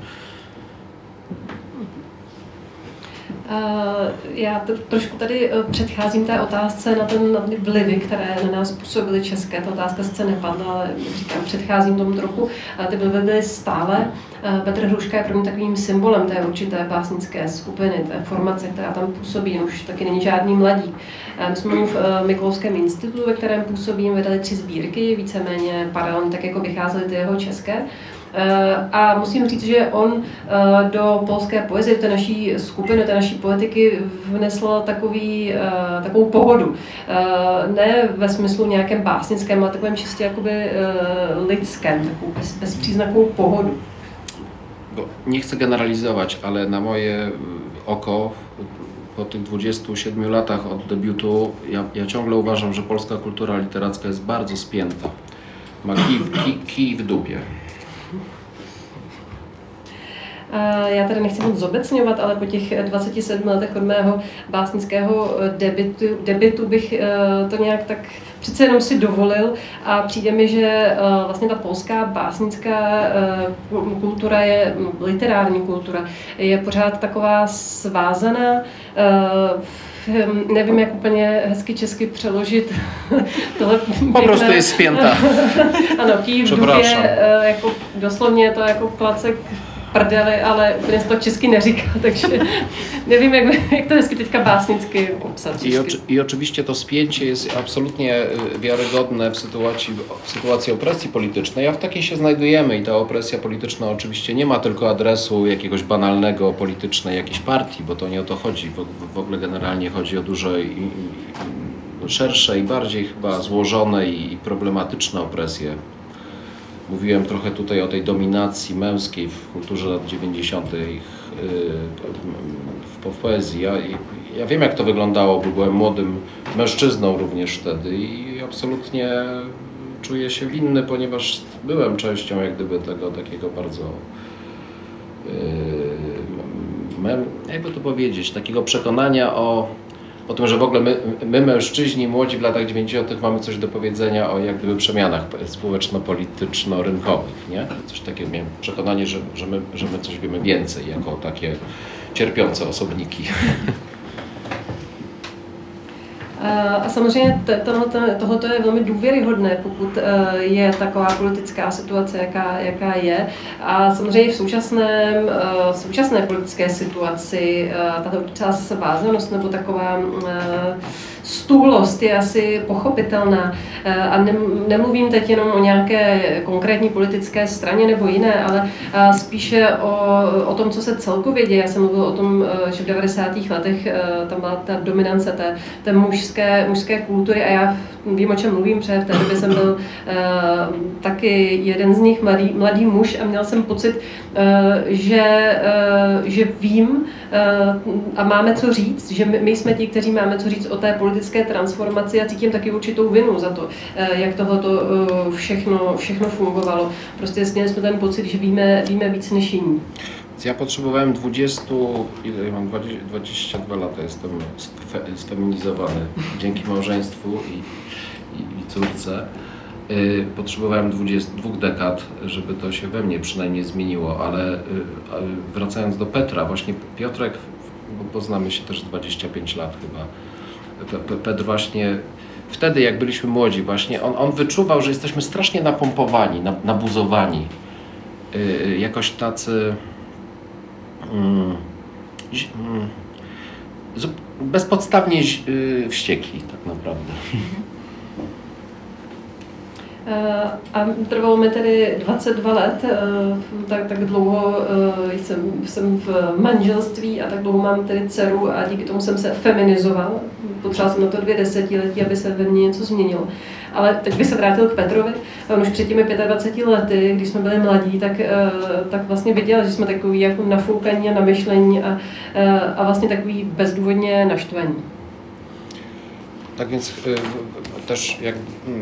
Já trošku tady předcházím té otázce na ty vlivy, které na nás působily české. Ta otázka sice nepadla, ale říkám, předcházím tomu trochu. Ty vlivy byly stále. Petr Hruška je pro mě takovým symbolem té určité básnické skupiny, té formace, která tam působí. Už taky není žádný mladík. My jsme mu v Mikolovském institutu, ve kterém působím, vydali 3 sbírky, víceméně paralelně tak jako vycházely ty jeho české. A musím říct, že on do polské poezie, té naší skupiny, té naší poetiky vnesl takovou pohodu. Ne ve smyslu nějakém básnickém, ale takovém čistě jakoby lidském, takovou bezpříznakovou pohodu. Nie chcę generalizować, ale na moje oko po tych 27 latach od debiutu ja ciągle uważam, że polska kultura literacka jest bardzo spięta. Ma kij w dupie. Já tady nechci moc zobecňovat, ale po těch 27 letech od mého básnického debutu bych to nějak tak přece jenom si dovolil a přijde mi, že vlastně ta polská básnická kultura literární kultura je pořád taková svázaná. Nevím, jak úplně hezky česky přeložit tohle. Po prostu jest spięta. Ano, kij v dupě, jako doslovně je to jako klacek prdeli, ale úplně se to česky neříká, takže nevím, jak to hezky teďka básnicky obsat. I oczywiście to spięcie jest absolutnie wiarygodne w sytuacji opresji politycznej, a w takiej się znajdujemy i ta opresja polityczna oczywiście nie ma tylko adresu jakiegoś banalnego politycznej jakiejś partii, bo to nie o to chodzi, w ogóle generalnie chodzi o dużo szersze i bardziej chyba złożone i problematyczne opresje. Mówiłem trochę tutaj o tej dominacji męskiej w kulturze lat 90. w poezji. Ja wiem, jak to wyglądało, bo byłem młodym mężczyzną również wtedy i absolutnie czuję się winny, ponieważ byłem częścią jak gdyby tego takiego bardzo, jakby to powiedzieć, takiego przekonania o tym, że w ogóle my mężczyźni, młodzi w latach 90. mamy coś do powiedzenia o jak gdyby przemianach społeczno-polityczno-rynkowych, nie? Coś takiego, miałem przekonanie, że my coś wiemy więcej, jako takie cierpiące osobniki. A samozřejmě tohle je velmi důvěryhodné, pokud je taková politická situace, jaká je. A samozřejmě v současné politické situaci tato určitá svázanost nebo taková stůlost je asi pochopitelná. A nemluvím teď jenom o nějaké konkrétní politické straně nebo jiné, ale spíše o tom, co se celkově děje. Já jsem mluvil o tom, že v 90. letech tam byla ta dominance té mužské kultury a já vím, o čem mluvím, protože v té době jsem byl taky jeden z nich, mladý muž, a měl jsem pocit, že vím a máme co říct, že my jsme ti, kteří máme co říct o té politické transformaci, a cítím taky určitou vinu za to, jak tohleto všechno fungovalo. Prostě jsme ten pocit, že víme víc než jiní. Ja potrzebowałem 22 lata, jestem sfeminizowany dzięki małżeństwu i córce. Potrzebowałem 22 dekad, żeby to się we mnie przynajmniej zmieniło, ale wracając do Petra, właśnie Piotrek, bo poznamy się też 25 lat chyba, Petr właśnie wtedy, jak byliśmy młodzi, właśnie on wyczuwał, że jesteśmy strasznie napompowani, nabuzowani, jakoś tacy bezpodstawnie wściekli tak naprawdę. A trvalo mi tedy 22 let, tak dlouho jsem v manželství a tak dlouho mám tedy dceru a díky tomu jsem se feminizoval. Potřeboval jsem na to 2 desetiletí, aby se ve mně něco změnilo. Ale teď bych se vrátil k Petrovi. On už před těmi 25 lety, když jsme byli mladí, tak vlastně viděl, že jsme takový jako nafoukaní a namyšlení a vlastně takový bezdůvodně naštvaní. Tak więc też jak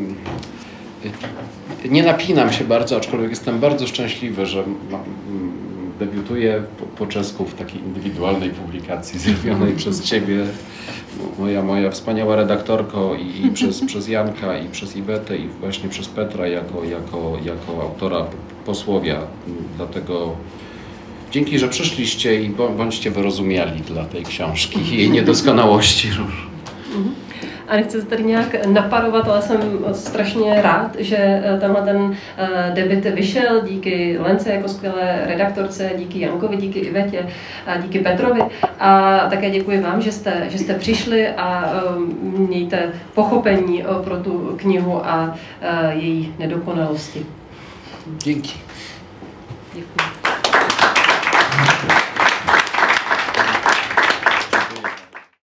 nie napinam się bardzo, aczkolwiek jestem bardzo szczęśliwy, że debiutuję po czesku w takiej indywidualnej publikacji zrobionej przez Ciebie, moja wspaniała redaktorko, i przez Janka, i przez Iwetę, i właśnie przez Petra jako autora posłowia. Dlatego dzięki, że przyszliście i bądźcie wyrozumiali dla tej książki i jej niedoskonałości. A nechci se tady nějak naparovat, ale jsem strašně rád, že ten debut vyšel díky Lence jako skvělé redaktorce, díky Jankovi, díky Ivetě a díky Petrovi. A také děkuji vám, že jste přišli a mějte pochopení pro tu knihu a její nedokonalosti. Děkuji. Děkuji.